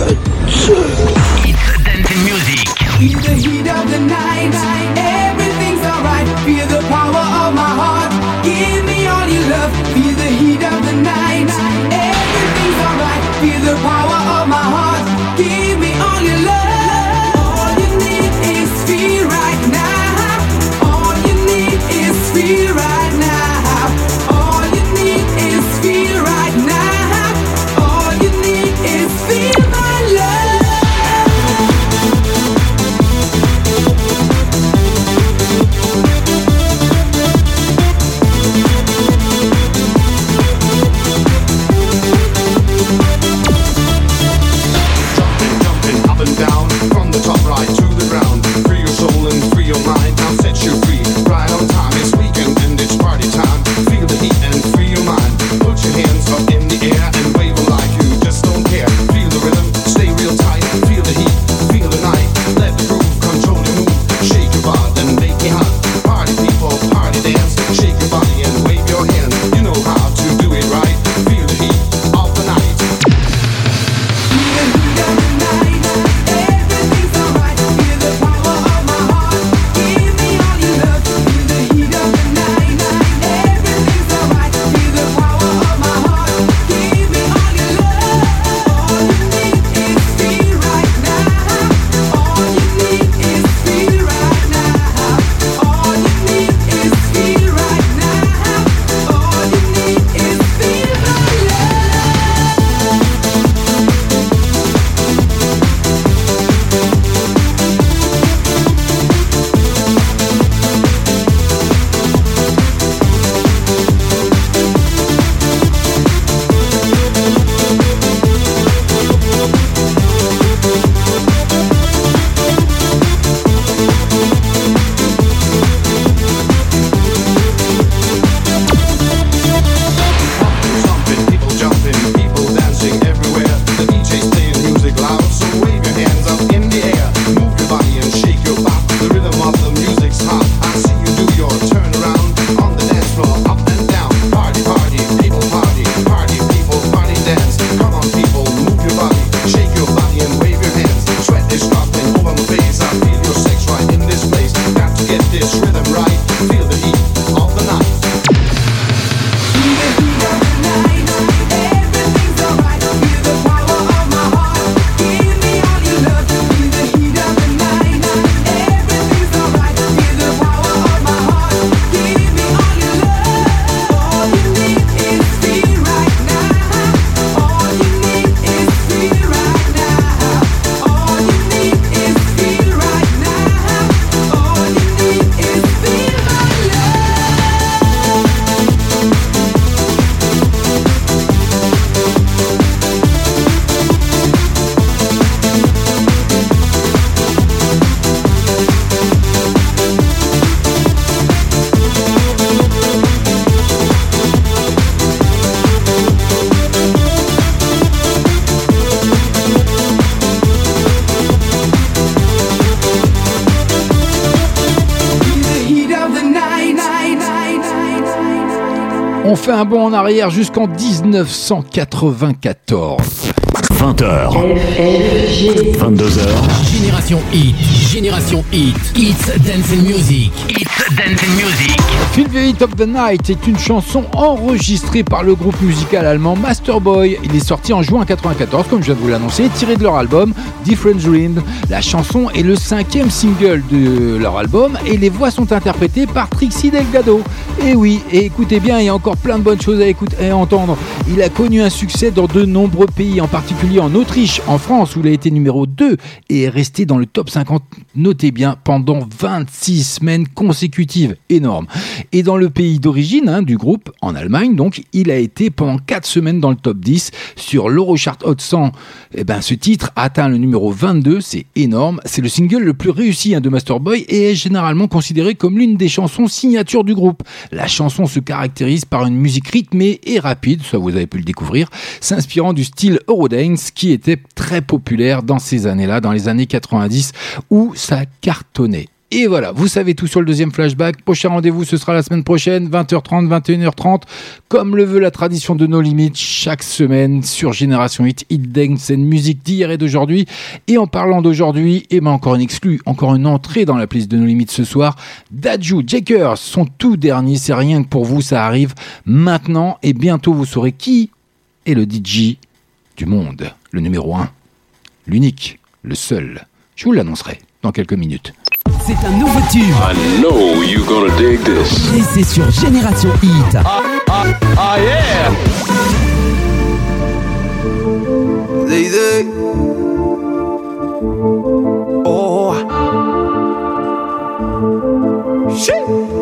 It's dancing music.
Feel the heat of the night. Everything's alright. Feel the power of my heart. Give me all your love. Feel the heat of the night. Everything's alright. Feel the power of my heart. Give me all your love. All you need is feel right now. All you need is feel right now. All you need is feel right now. All you need is feel my love.
fait un bond en arrière jusqu'en dix-neuf cent quatre-vingt-quatorze.
vingt heures. vingt-deux heures.
Génération Hit. Génération Hit. It's Dancing Music. It's Dancing Music.
Feel the Heat of the Night est une chanson enregistrée par le groupe musical allemand Masterboy. Il est sorti en juin quatre-vingt-quatorze, comme je viens de vous l'annoncer, tiré de leur album Different Dream. La chanson est le cinquième single de leur album et les voix sont interprétées par Trixie Delgado. Et oui, et écoutez bien, il y a encore plein de bonnes choses à écouter et à entendre. Il a connu un succès dans de nombreux pays, en particulier en Autriche, en France où il a été numéro deux et est resté dans le top cinquante, notez bien, pendant vingt-six semaines consécutives. Énorme. Et dans le pays d'origine hein, du groupe, en Allemagne, donc, il a été pendant quatre semaines dans le top dix. Sur l'Eurochart Hot cent, eh ben, ce titre a atteint le numéro vingt-deux, c'est énorme. C'est le single le plus réussi hein, de Masterboy et est généralement considéré comme l'une des chansons signature du groupe. La chanson se caractérise par une musique rythmée et rapide, ça vous avez pu le découvrir, s'inspirant du style Eurodance qui était très populaire dans ces années-là, dans les années quatre-vingt-dix, où ça cartonnait. Et voilà, vous savez tout sur le deuxième flashback. Prochain rendez-vous, ce sera la semaine prochaine, vingt heures trente, vingt et une heures trente, comme le veut la tradition de No Limit, chaque semaine sur Génération Hit, Hit Dance and Music d'hier et d'aujourd'hui. Et en parlant d'aujourd'hui, eh ben encore une exclue, encore une entrée dans la playlist de No Limit ce soir. Dadju Jakers, son tout dernier, c'est rien que pour vous, ça arrive maintenant. Et bientôt, vous saurez qui est le D J du monde, le numéro un, l'unique, le seul. Je vous l'annoncerai dans quelques minutes.
C'est un nouveau tube.
I know you're gonna dig this.
Et c'est sur Génération Hit.
Ah, ah, ah yeah.
Zay, zay. Oh. Shit.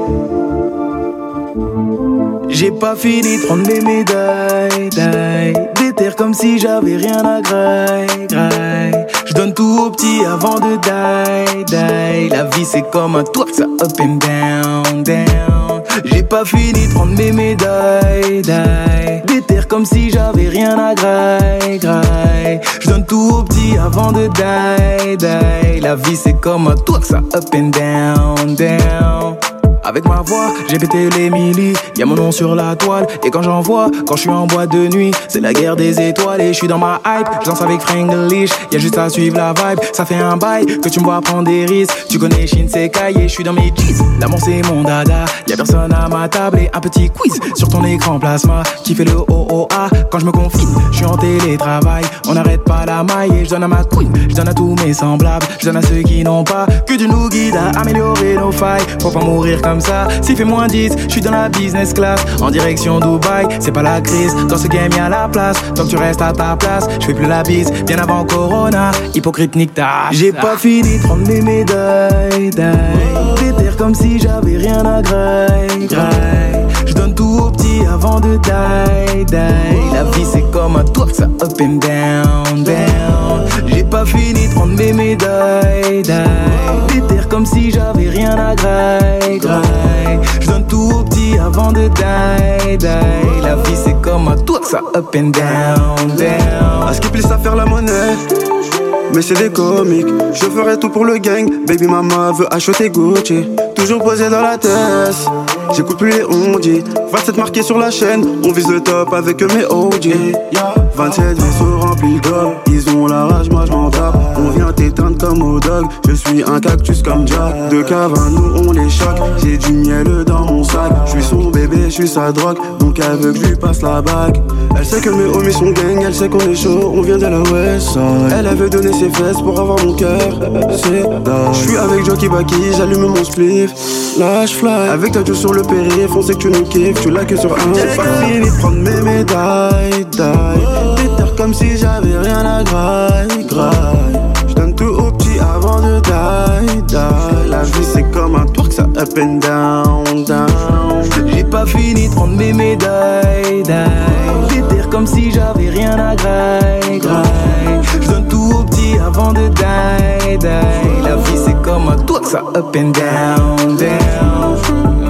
J'ai pas fini de prendre mes médailles, déterre comme si j'avais rien à graille, graille. Je donne tout au petit avant de die, die. La vie c'est comme un tour, ça up and down, down. J'ai pas fini de prendre mes médailles, déterre comme si j'avais rien à graille, graille. Je donne tout au petit avant de die, die. La vie c'est comme un tour, ça up and down, down. Avec ma voix, j'ai pété les millis, y'a mon nom sur la toile. Et quand j'en vois, quand je suis en boîte de nuit, c'est la guerre des étoiles et je suis dans ma hype. Je danse avec Franglish, y'a juste à suivre la vibe. Ça fait un bail que tu me vois prendre des risques. Tu connais Shinsekai et je suis dans mes jeans. L'amour c'est mon dada, y'a personne à ma table. Et un petit quiz sur ton écran plasma qui fait le O O A. Quand je me confine, je suis en télétravail. On n'arrête pas la maille et je donne à ma queen. Je donne à tous mes semblables, je donne à ceux qui n'ont pas que Dieu nous guide à améliorer nos failles. Faut pas mourir comme ça, s'il fait moins dix, je suis dans la business class, en direction Dubaï, c'est pas la crise, dans ce game y'a la place, tant que tu restes à ta place, je fais plus la bise, bien avant Corona, hypocrite nique ta. J'ai pas fini de prendre mes médailles, déterre comme si j'avais rien à graille, graille. Je donne tout au petit avant de die, die. La vie c'est comme un tour, ça up and down, down. J'ai pas fini de prendre mes médailles, déterre comme si j'avais rien à graille, graille. Je donne tout au petit avant de die, die. La vie c'est comme un tour, ça up and down, down.
À ce qui plisse à faire la monnaie, mais c'est des comiques. Je ferai tout pour le gang. Baby mama veut acheter Gucci. Toujours posé dans la tête, j'écoute plus les ondits. vingt-sept marqués sur la chaîne, on vise le top avec mes O G. vingt-sept vaisseaux remplis d'or, ils ont la rage, moi je m'en tape. On vient t'éteindre comme au dog, je suis un cactus comme Jack. De cave à nous on les choque, j'ai du miel dans mon sac. Je suis son bébé, je suis sa drogue, donc elle veut que je lui passe la bague. Elle sait que mes homies sont gang, elle sait qu'on est chaud, on vient de la West Side. Elle avait donné ses fesses pour avoir mon cœur, c'est dingue. Je suis avec Jockey Baki, j'allume mon spliff, lâche fly. Avec ta sur le périph', on sait que tu nous kiffes, tu l'as que sur un. J'ai pas fini de prendre mes médailles, déterre comme si j'avais rien à graille, graille. Je donne tout au petit avant de die, die. La vie c'est comme un tour que ça up and down, down.
J'ai pas fini de prendre mes médailles, déterre comme si j'avais rien à graille, graille. Je donne tout au petit avant de die, die. La vie c'est comme un tour que ça up and down, down.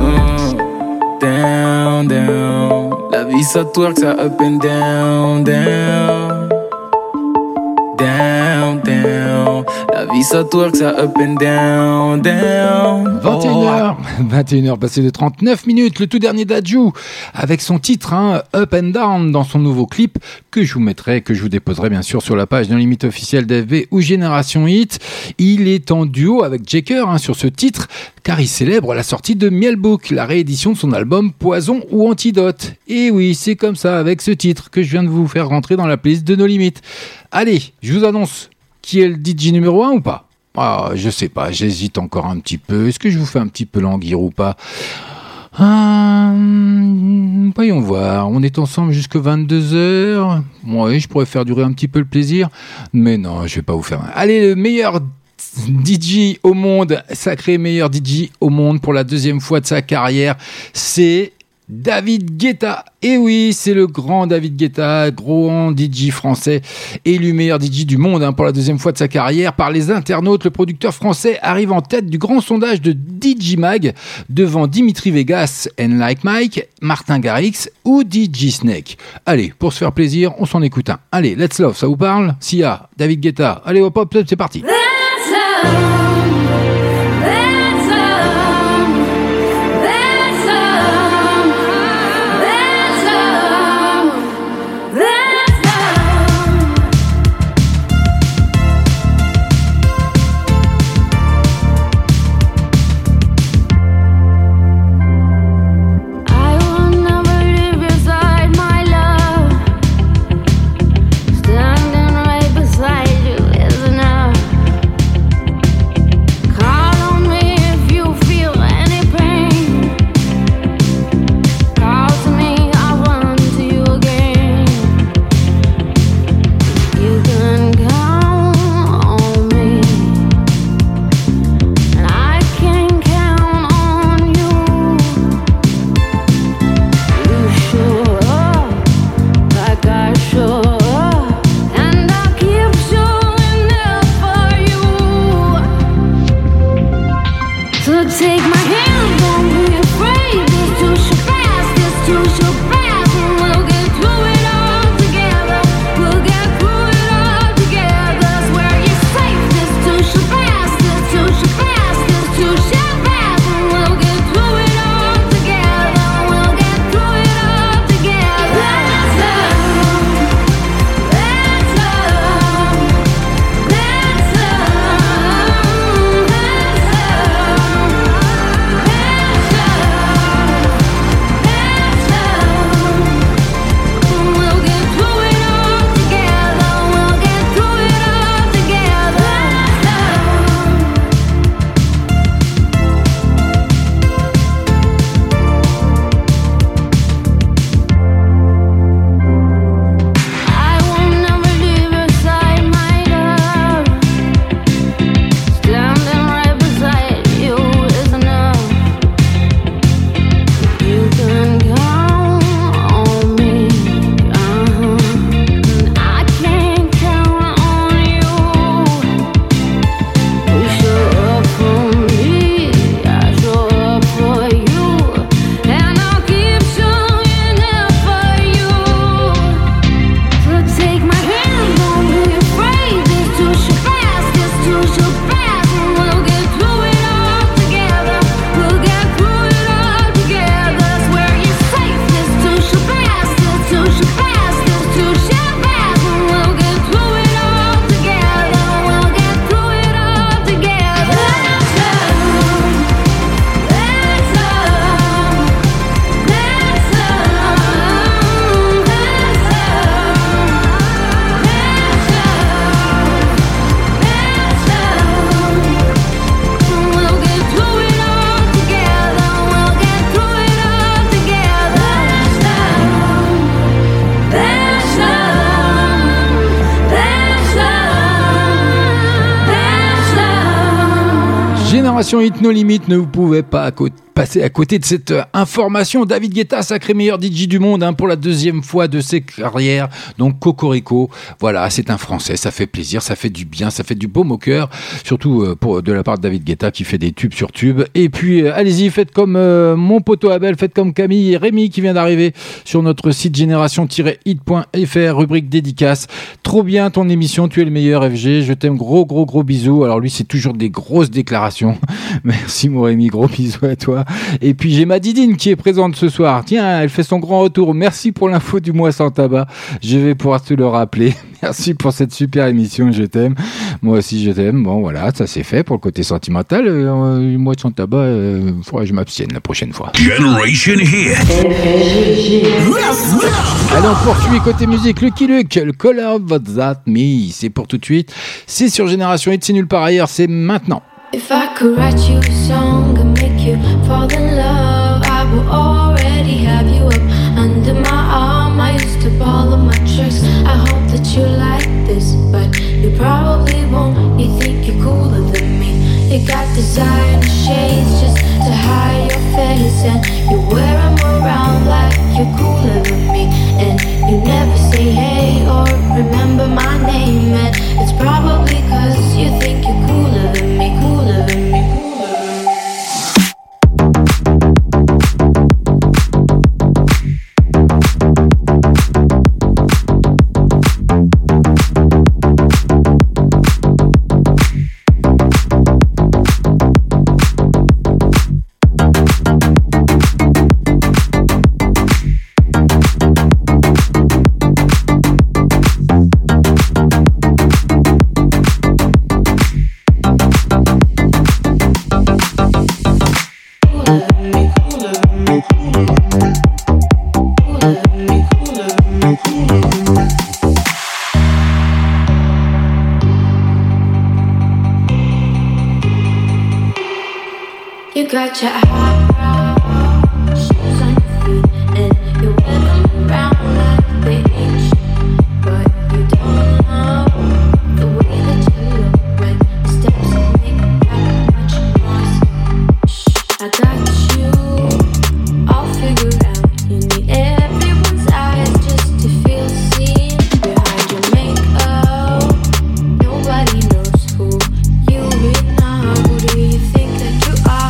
Down, down. La vie ça twerk, ça up and down, down. Down, down.
La vie ça twerk, ça up and down, down.
vingt et une heures, vingt et une heures passées de trente-neuf minutes, le tout dernier d'Adju, avec son titre hein, Up and Down dans son nouveau clip que je vous mettrai, que je vous déposerai bien sûr sur la page No Limit officielle d'F B ou Génération Hit. Il est en duo avec Jaker hein, sur ce titre car il célèbre la sortie de Mielbook, la réédition de son album Poison ou Antidote. Et oui, c'est comme ça avec ce titre que je viens de vous faire rentrer dans la playlist de No Limit. Allez, je vous annonce qui est le D J numéro un ou pas? Ah, je sais pas, j'hésite encore un petit peu. Est-ce que je vous fais un petit peu languir ou pas? Hum, voyons voir, on est ensemble jusqu'à vingt-deux heures. Oui, je pourrais faire durer un petit peu le plaisir, mais non, je vais pas vous faire. Allez, le meilleur D J au monde, sacré meilleur D J au monde pour la deuxième fois de sa carrière, c'est David Guetta. Et oui, c'est le grand David Guetta, grand D J français, élu meilleur D J du monde hein, pour la deuxième fois de sa carrière par les internautes. Le producteur français arrive en tête du grand sondage de D J Mag devant Dimitri Vegas, and Like Mike, Martin Garrix ou D J Snake. Allez, pour se faire plaisir, on s'en écoute un. Allez, Let's Love, ça vous parle? Sia, David Guetta. Allez, hop hop, c'est parti. Let's love. Génération Hit No Limit, ne vous pouvez pas passer à côté de cette euh, information. David Guetta, sacré meilleur D J du monde hein, pour la deuxième fois de ses carrières. Donc Cocorico, voilà, c'est un Français, ça fait plaisir, ça fait du bien, ça fait du baume au cœur, surtout euh, pour, de la part de David Guetta qui fait des tubes sur tubes. Et puis euh, allez-y, faites comme euh, mon poteau Abel, faites comme Camille et Rémi qui vient d'arriver sur notre site génération tiret hit point f r, rubrique dédicace. Trop bien ton émission, tu es le meilleur F G, je t'aime, gros gros gros bisous. Alors lui c'est toujours des grosses déclarations. Merci mon Rémi, gros bisous à toi. Et puis j'ai ma Didine qui est présente ce soir, tiens, elle fait son grand retour. Merci pour l'info du mois sans tabac, je vais pouvoir te le rappeler. Merci pour cette super émission, je t'aime. Moi aussi je t'aime. Bon voilà, ça c'est fait pour le côté sentimental. Euh, le mois sans tabac, il euh, faudra que je m'abstienne la prochaine fois.
Generation Hit.
Allez, on poursuit côté musique. Lucky Luke, le Color of That Me, c'est pour tout de suite. C'est sur Génération Hit, c'est nulle part ailleurs, c'est maintenant.
If I could write you a song and make you fall in love, I would already have you up under my arm. I used to ball of my tricks. I hope that you like this, but you probably won't. You think you're cooler than me. You got designer shades just to hide your face, and you wear them around like you're cooler than me. And you never say hey or remember my name, and it's probably cause you think you're cooler than me, cooler than me, cooler than me. You got your high shoes on your feet, and you wear them around like they ain't shit. But you don't know the way that you look when the steps make that much noise. Shh, I got you all figured out. You need everyone's eyes just to feel seen behind your makeup. Nobody knows who you really are. Who do you think that you are?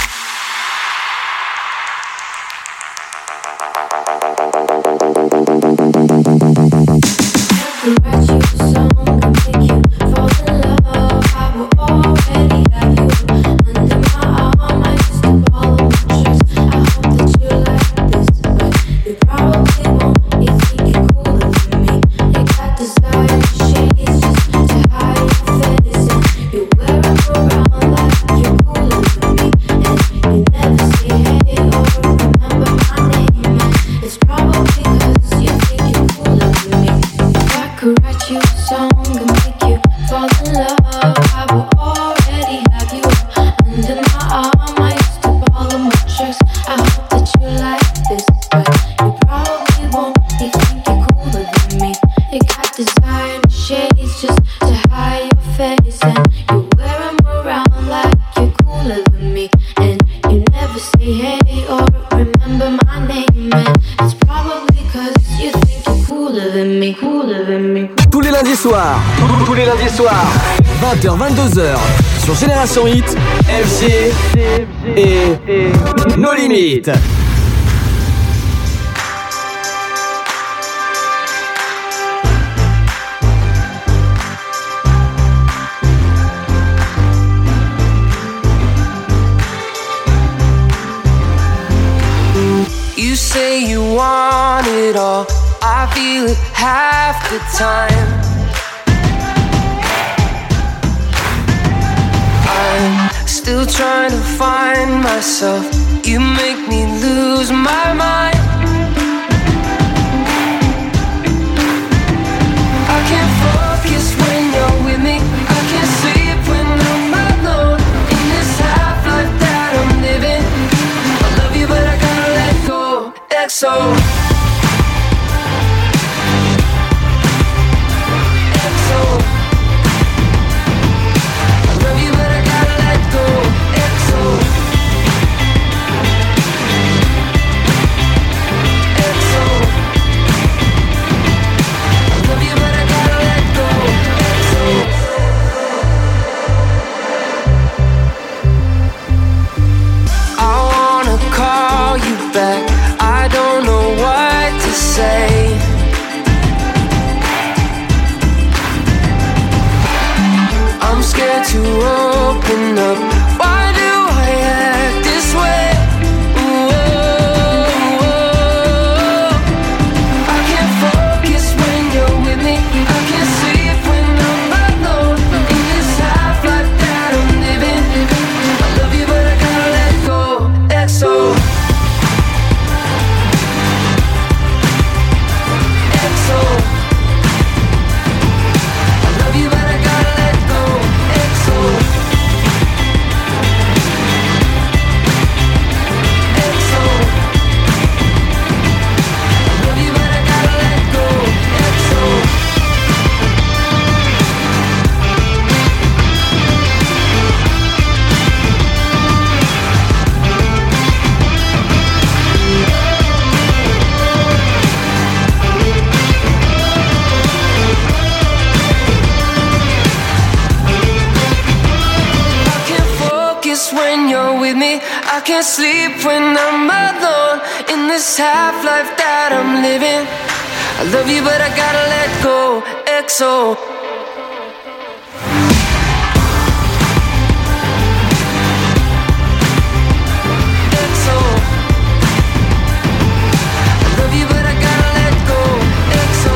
Tous les lundis soirs, tous les lundis soirs, vingt heures vingt-deux heures, sur Génération Hit, F G et No Limites.
You say you want it all, I feel it half the time. I'm still trying to find myself. You make me lose my mind. I can't focus when you're with me. I can't sleep when I'm alone. In this half life that I'm living, I love you but I gotta let go. X O. to open up. Why do I act this way? Ooh, oh, oh. I can't focus when you're with me. I can't sleep when I'm alone. In this half life that I'm living, I love you but I gotta let go. X O. X O. I love you but I gotta let go. X O. X O. I love you but I gotta let go. X O. I can't focus when you're with me. I can't sleep when I'm alone. In this half life that I'm living, I love you but I gotta let go. X O. X O. I love you but I gotta let go. X O.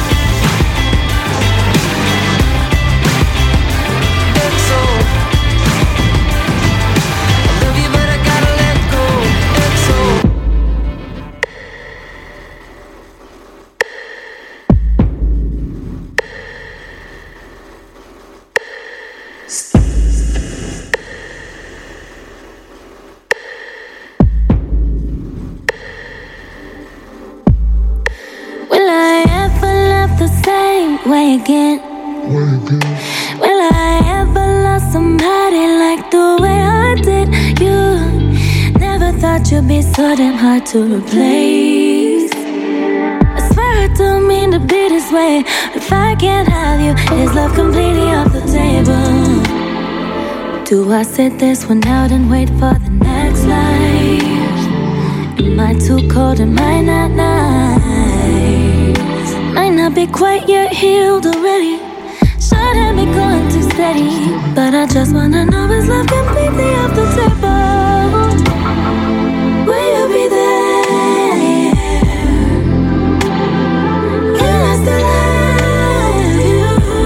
X O. I love you but I gotta let go. X O.
Will I ever love the same way again? Will I ever love somebody like the way I did you? Never thought you'd be so damn hard to replace. I swear I don't mean to be this way. If I can't have you, is love completely off the table? Do I sit this one out and wait for the next life? Am I too cold? Am I not nice? Might not be quite yet healed already. Shouldn't be going too steady. But I just wanna know, is love completely off the table? Will you be there? Can I still love you?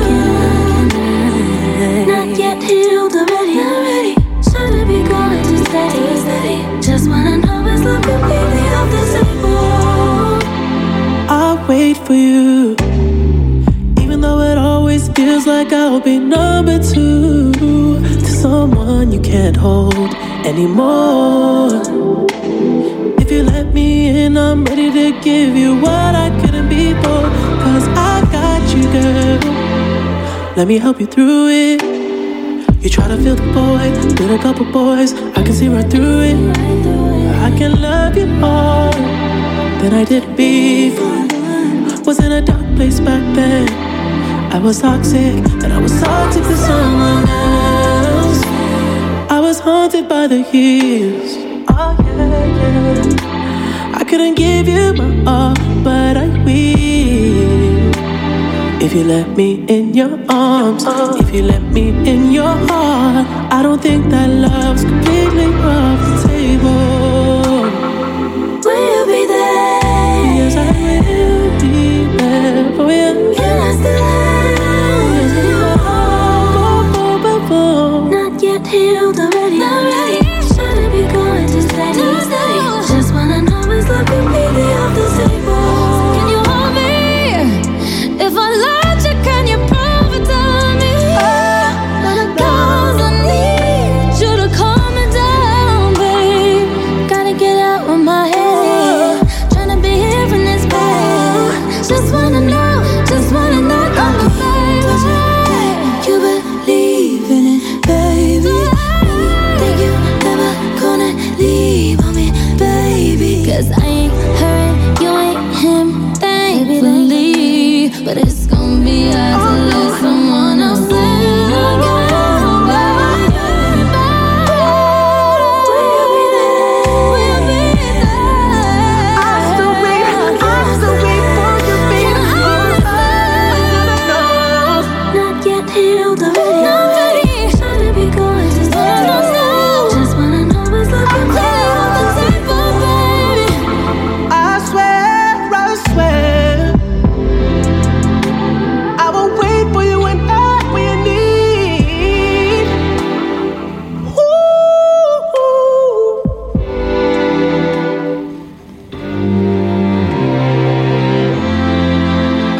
Not yet healed already. already. Shouldn't be going too steady. Just wanna know, is love completely off the table?
I'll wait for you, even though it always feels like I'll be number two to someone you can't hold anymore. If you let me in, I'm ready to give you what I couldn't before. Cause I got you, girl. Let me help you through it. You try to fill the void with a couple boys, I can see right through it. I can love you more than I did before. Was in a dark place back then. I was toxic, and I was toxic to someone else. I was haunted by the years. Oh yeah, yeah. I couldn't give you my all, but I will. If you let me in your arms, if you let me in your heart, I don't think that love's completely off the table.
Will you be there?
Yes, I will be there for you.
Can I still love you? Not yet healed already. Not ready. Shouldn't be going too steady. Too steady. Just wanna know, is love completely off the table? Can you hold me? If I loved you, can you prove it to me? Cause I need you to calm me down, babe. Gotta get out of my head. Tryna be here in this bed. Just wanna know, just wanna know.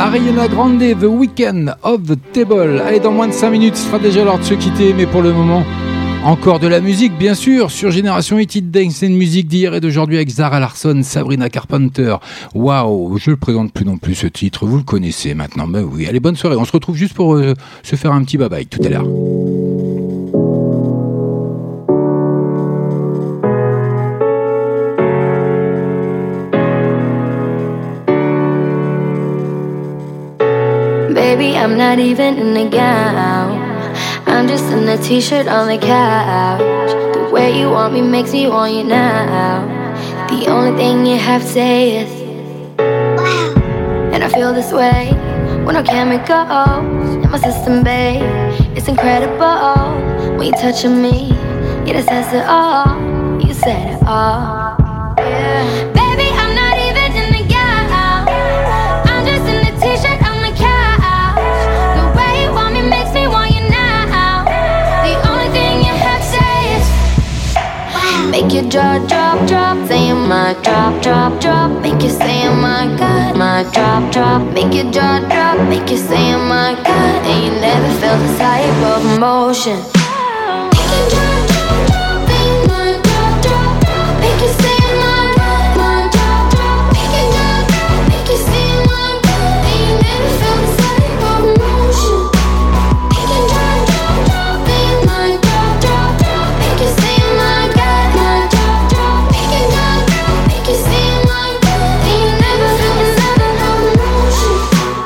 Ariana Grande, The Weekend of the Table. Allez, dans moins de cinq minutes, ce sera déjà l'heure de se quitter, mais pour le moment, encore de la musique, bien sûr, sur Génération Hit Dance and Music d'hier et d'aujourd'hui avec Zara Larsson, Sabrina Carpenter. Waouh, je le présente plus non plus ce titre, vous le connaissez maintenant. Ben oui, allez, bonne soirée. On se retrouve juste pour euh, se faire un petit bye-bye tout à l'heure.
Baby, I'm not even in a gown. I'm just in a t-shirt on the couch. The way you want me makes me want you now. The only thing you have to say is wow. And I feel this way when our chemicals in my system, babe. It's incredible when you're touching me. Yeah, that says it all. You said it all. Yeah. Baby, I'm not even in the gown. I'm just in a t-shirt on the couch. The way you want me makes me want you now. The only thing you have to say is wow. Make your jaw drop, drop. Saying my drop, drop, drop. Make you say oh my God. My drop, drop. Make your jaw drop. Make you say oh my God. And you never felt this type of emotion. Make your jaw drop, drop. Saying my drop, drop, drop. Make you say oh my God. My drop, drop. Make your jaw drop. Make you say oh my God. And you never felt this type of emotion. Make your jaw drop, drop. Saying my drop, drop, drop. Make you say oh my God. My drop, drop. Make your jaw drop. Make you say oh my God. And you never felt this type of emotion.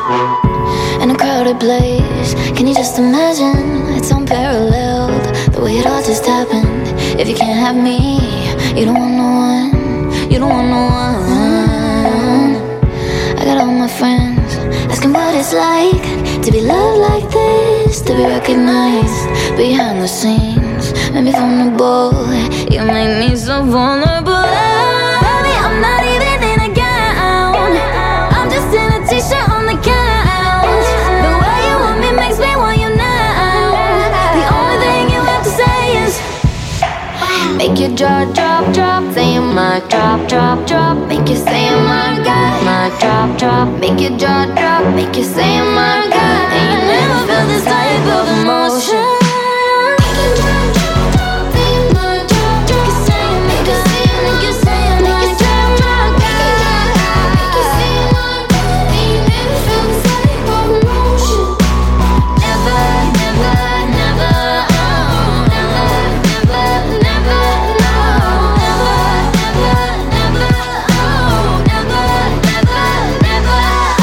In a crowded place, can you just imagine? It's unparalleled, the way it all just happened. If you can't have me, you don't want no one. You don't want no one. I got all my friends asking what it's like to be loved like this, to be recognized behind the scenes. Maybe vulnerable, you make me so vulnerable. Baby, I'm not even in a gown. I'm just in a t-shirt on the couch. The way you want me makes me want you now. The only thing you have to say is make your jaw drop, drop. Saying my drop, drop, drop. Make you say oh my God. My drop, drop. Make your jaw drop. Make you say oh my God. And you never felt this type of emotion. Make your jaw drop, drop. Saying my drop, drop. Make you say oh my God. Make you say oh my God. Make you say oh my God. And you never felt this type of emotion. Never, never, never. Oh, never, never, never. No, never, never, never. Oh, never, never, never.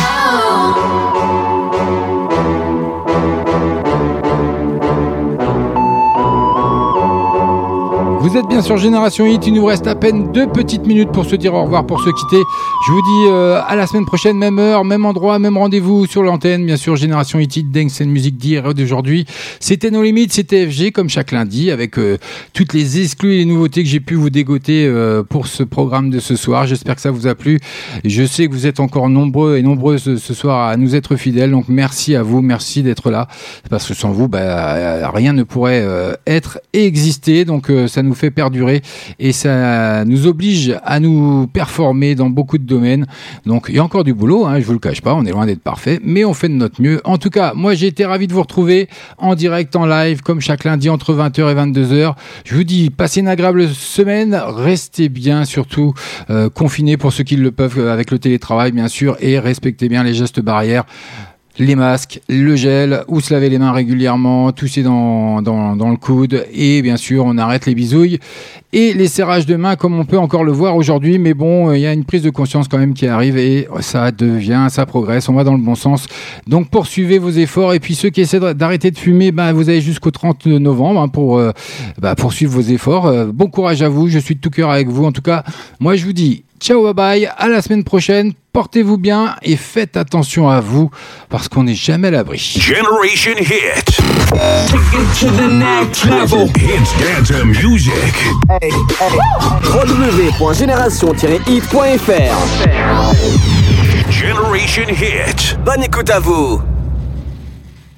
Vous êtes bien sur Génération Hit, il nous reste à peine deux petites minutes pour se dire au revoir, pour se quitter. Je vous dis euh, à la semaine prochaine, même heure, même endroit, même rendez-vous sur l'antenne. Bien sûr, Génération Hit, Hit Dance and Music d'hier et d'aujourd'hui. C'était No Limits, c'était F G comme chaque lundi avec euh, toutes les exclus et les nouveautés que j'ai pu vous dégoter euh, pour ce programme de ce soir. J'espère que ça vous a plu. Je sais que vous êtes encore nombreux et nombreuses ce soir à nous être fidèles. Donc merci à vous, merci d'être là. Parce que sans vous, bah, rien ne pourrait euh, être et exister. Donc euh, ça nous fait perdurer et ça nous oblige à nous performer dans beaucoup de domaines. Donc il y a encore du boulot, hein, je vous le cache pas, on est loin d'être parfait, mais on fait de notre mieux. En tout cas, moi j'ai été ravi de vous retrouver en direct, en live, comme chaque lundi entre vingt heures et vingt-deux heures. Je vous dis, passez une agréable semaine, restez bien, surtout euh, confinés pour ceux qui le peuvent avec le télétravail bien sûr, et respectez bien les gestes barrières. Les masques, le gel, ou se laver les mains régulièrement, tousser dans, dans, dans le coude, et bien sûr on arrête les bisouilles et les serrages de mains comme on peut encore le voir aujourd'hui, mais bon, il y a une prise de conscience quand même qui arrive et ça devient, ça progresse, on va dans le bon sens. Donc poursuivez vos efforts, et puis ceux qui essaient d'arrêter de fumer, ben, vous avez jusqu'au trente novembre hein, pour euh, ben, poursuivre vos efforts. Euh, bon courage à vous, je suis de tout cœur avec vous. En tout cas, moi je vous dis ciao, bye bye, à la semaine prochaine, portez-vous bien et faites attention à vous parce qu'on n'est jamais à l'abri.
Generation Hit. Take it to the next level. Hits dance music.
Hey, hey. w w w point génération tiret hit point f r.
Generation Hit.
Bonne écoute à vous.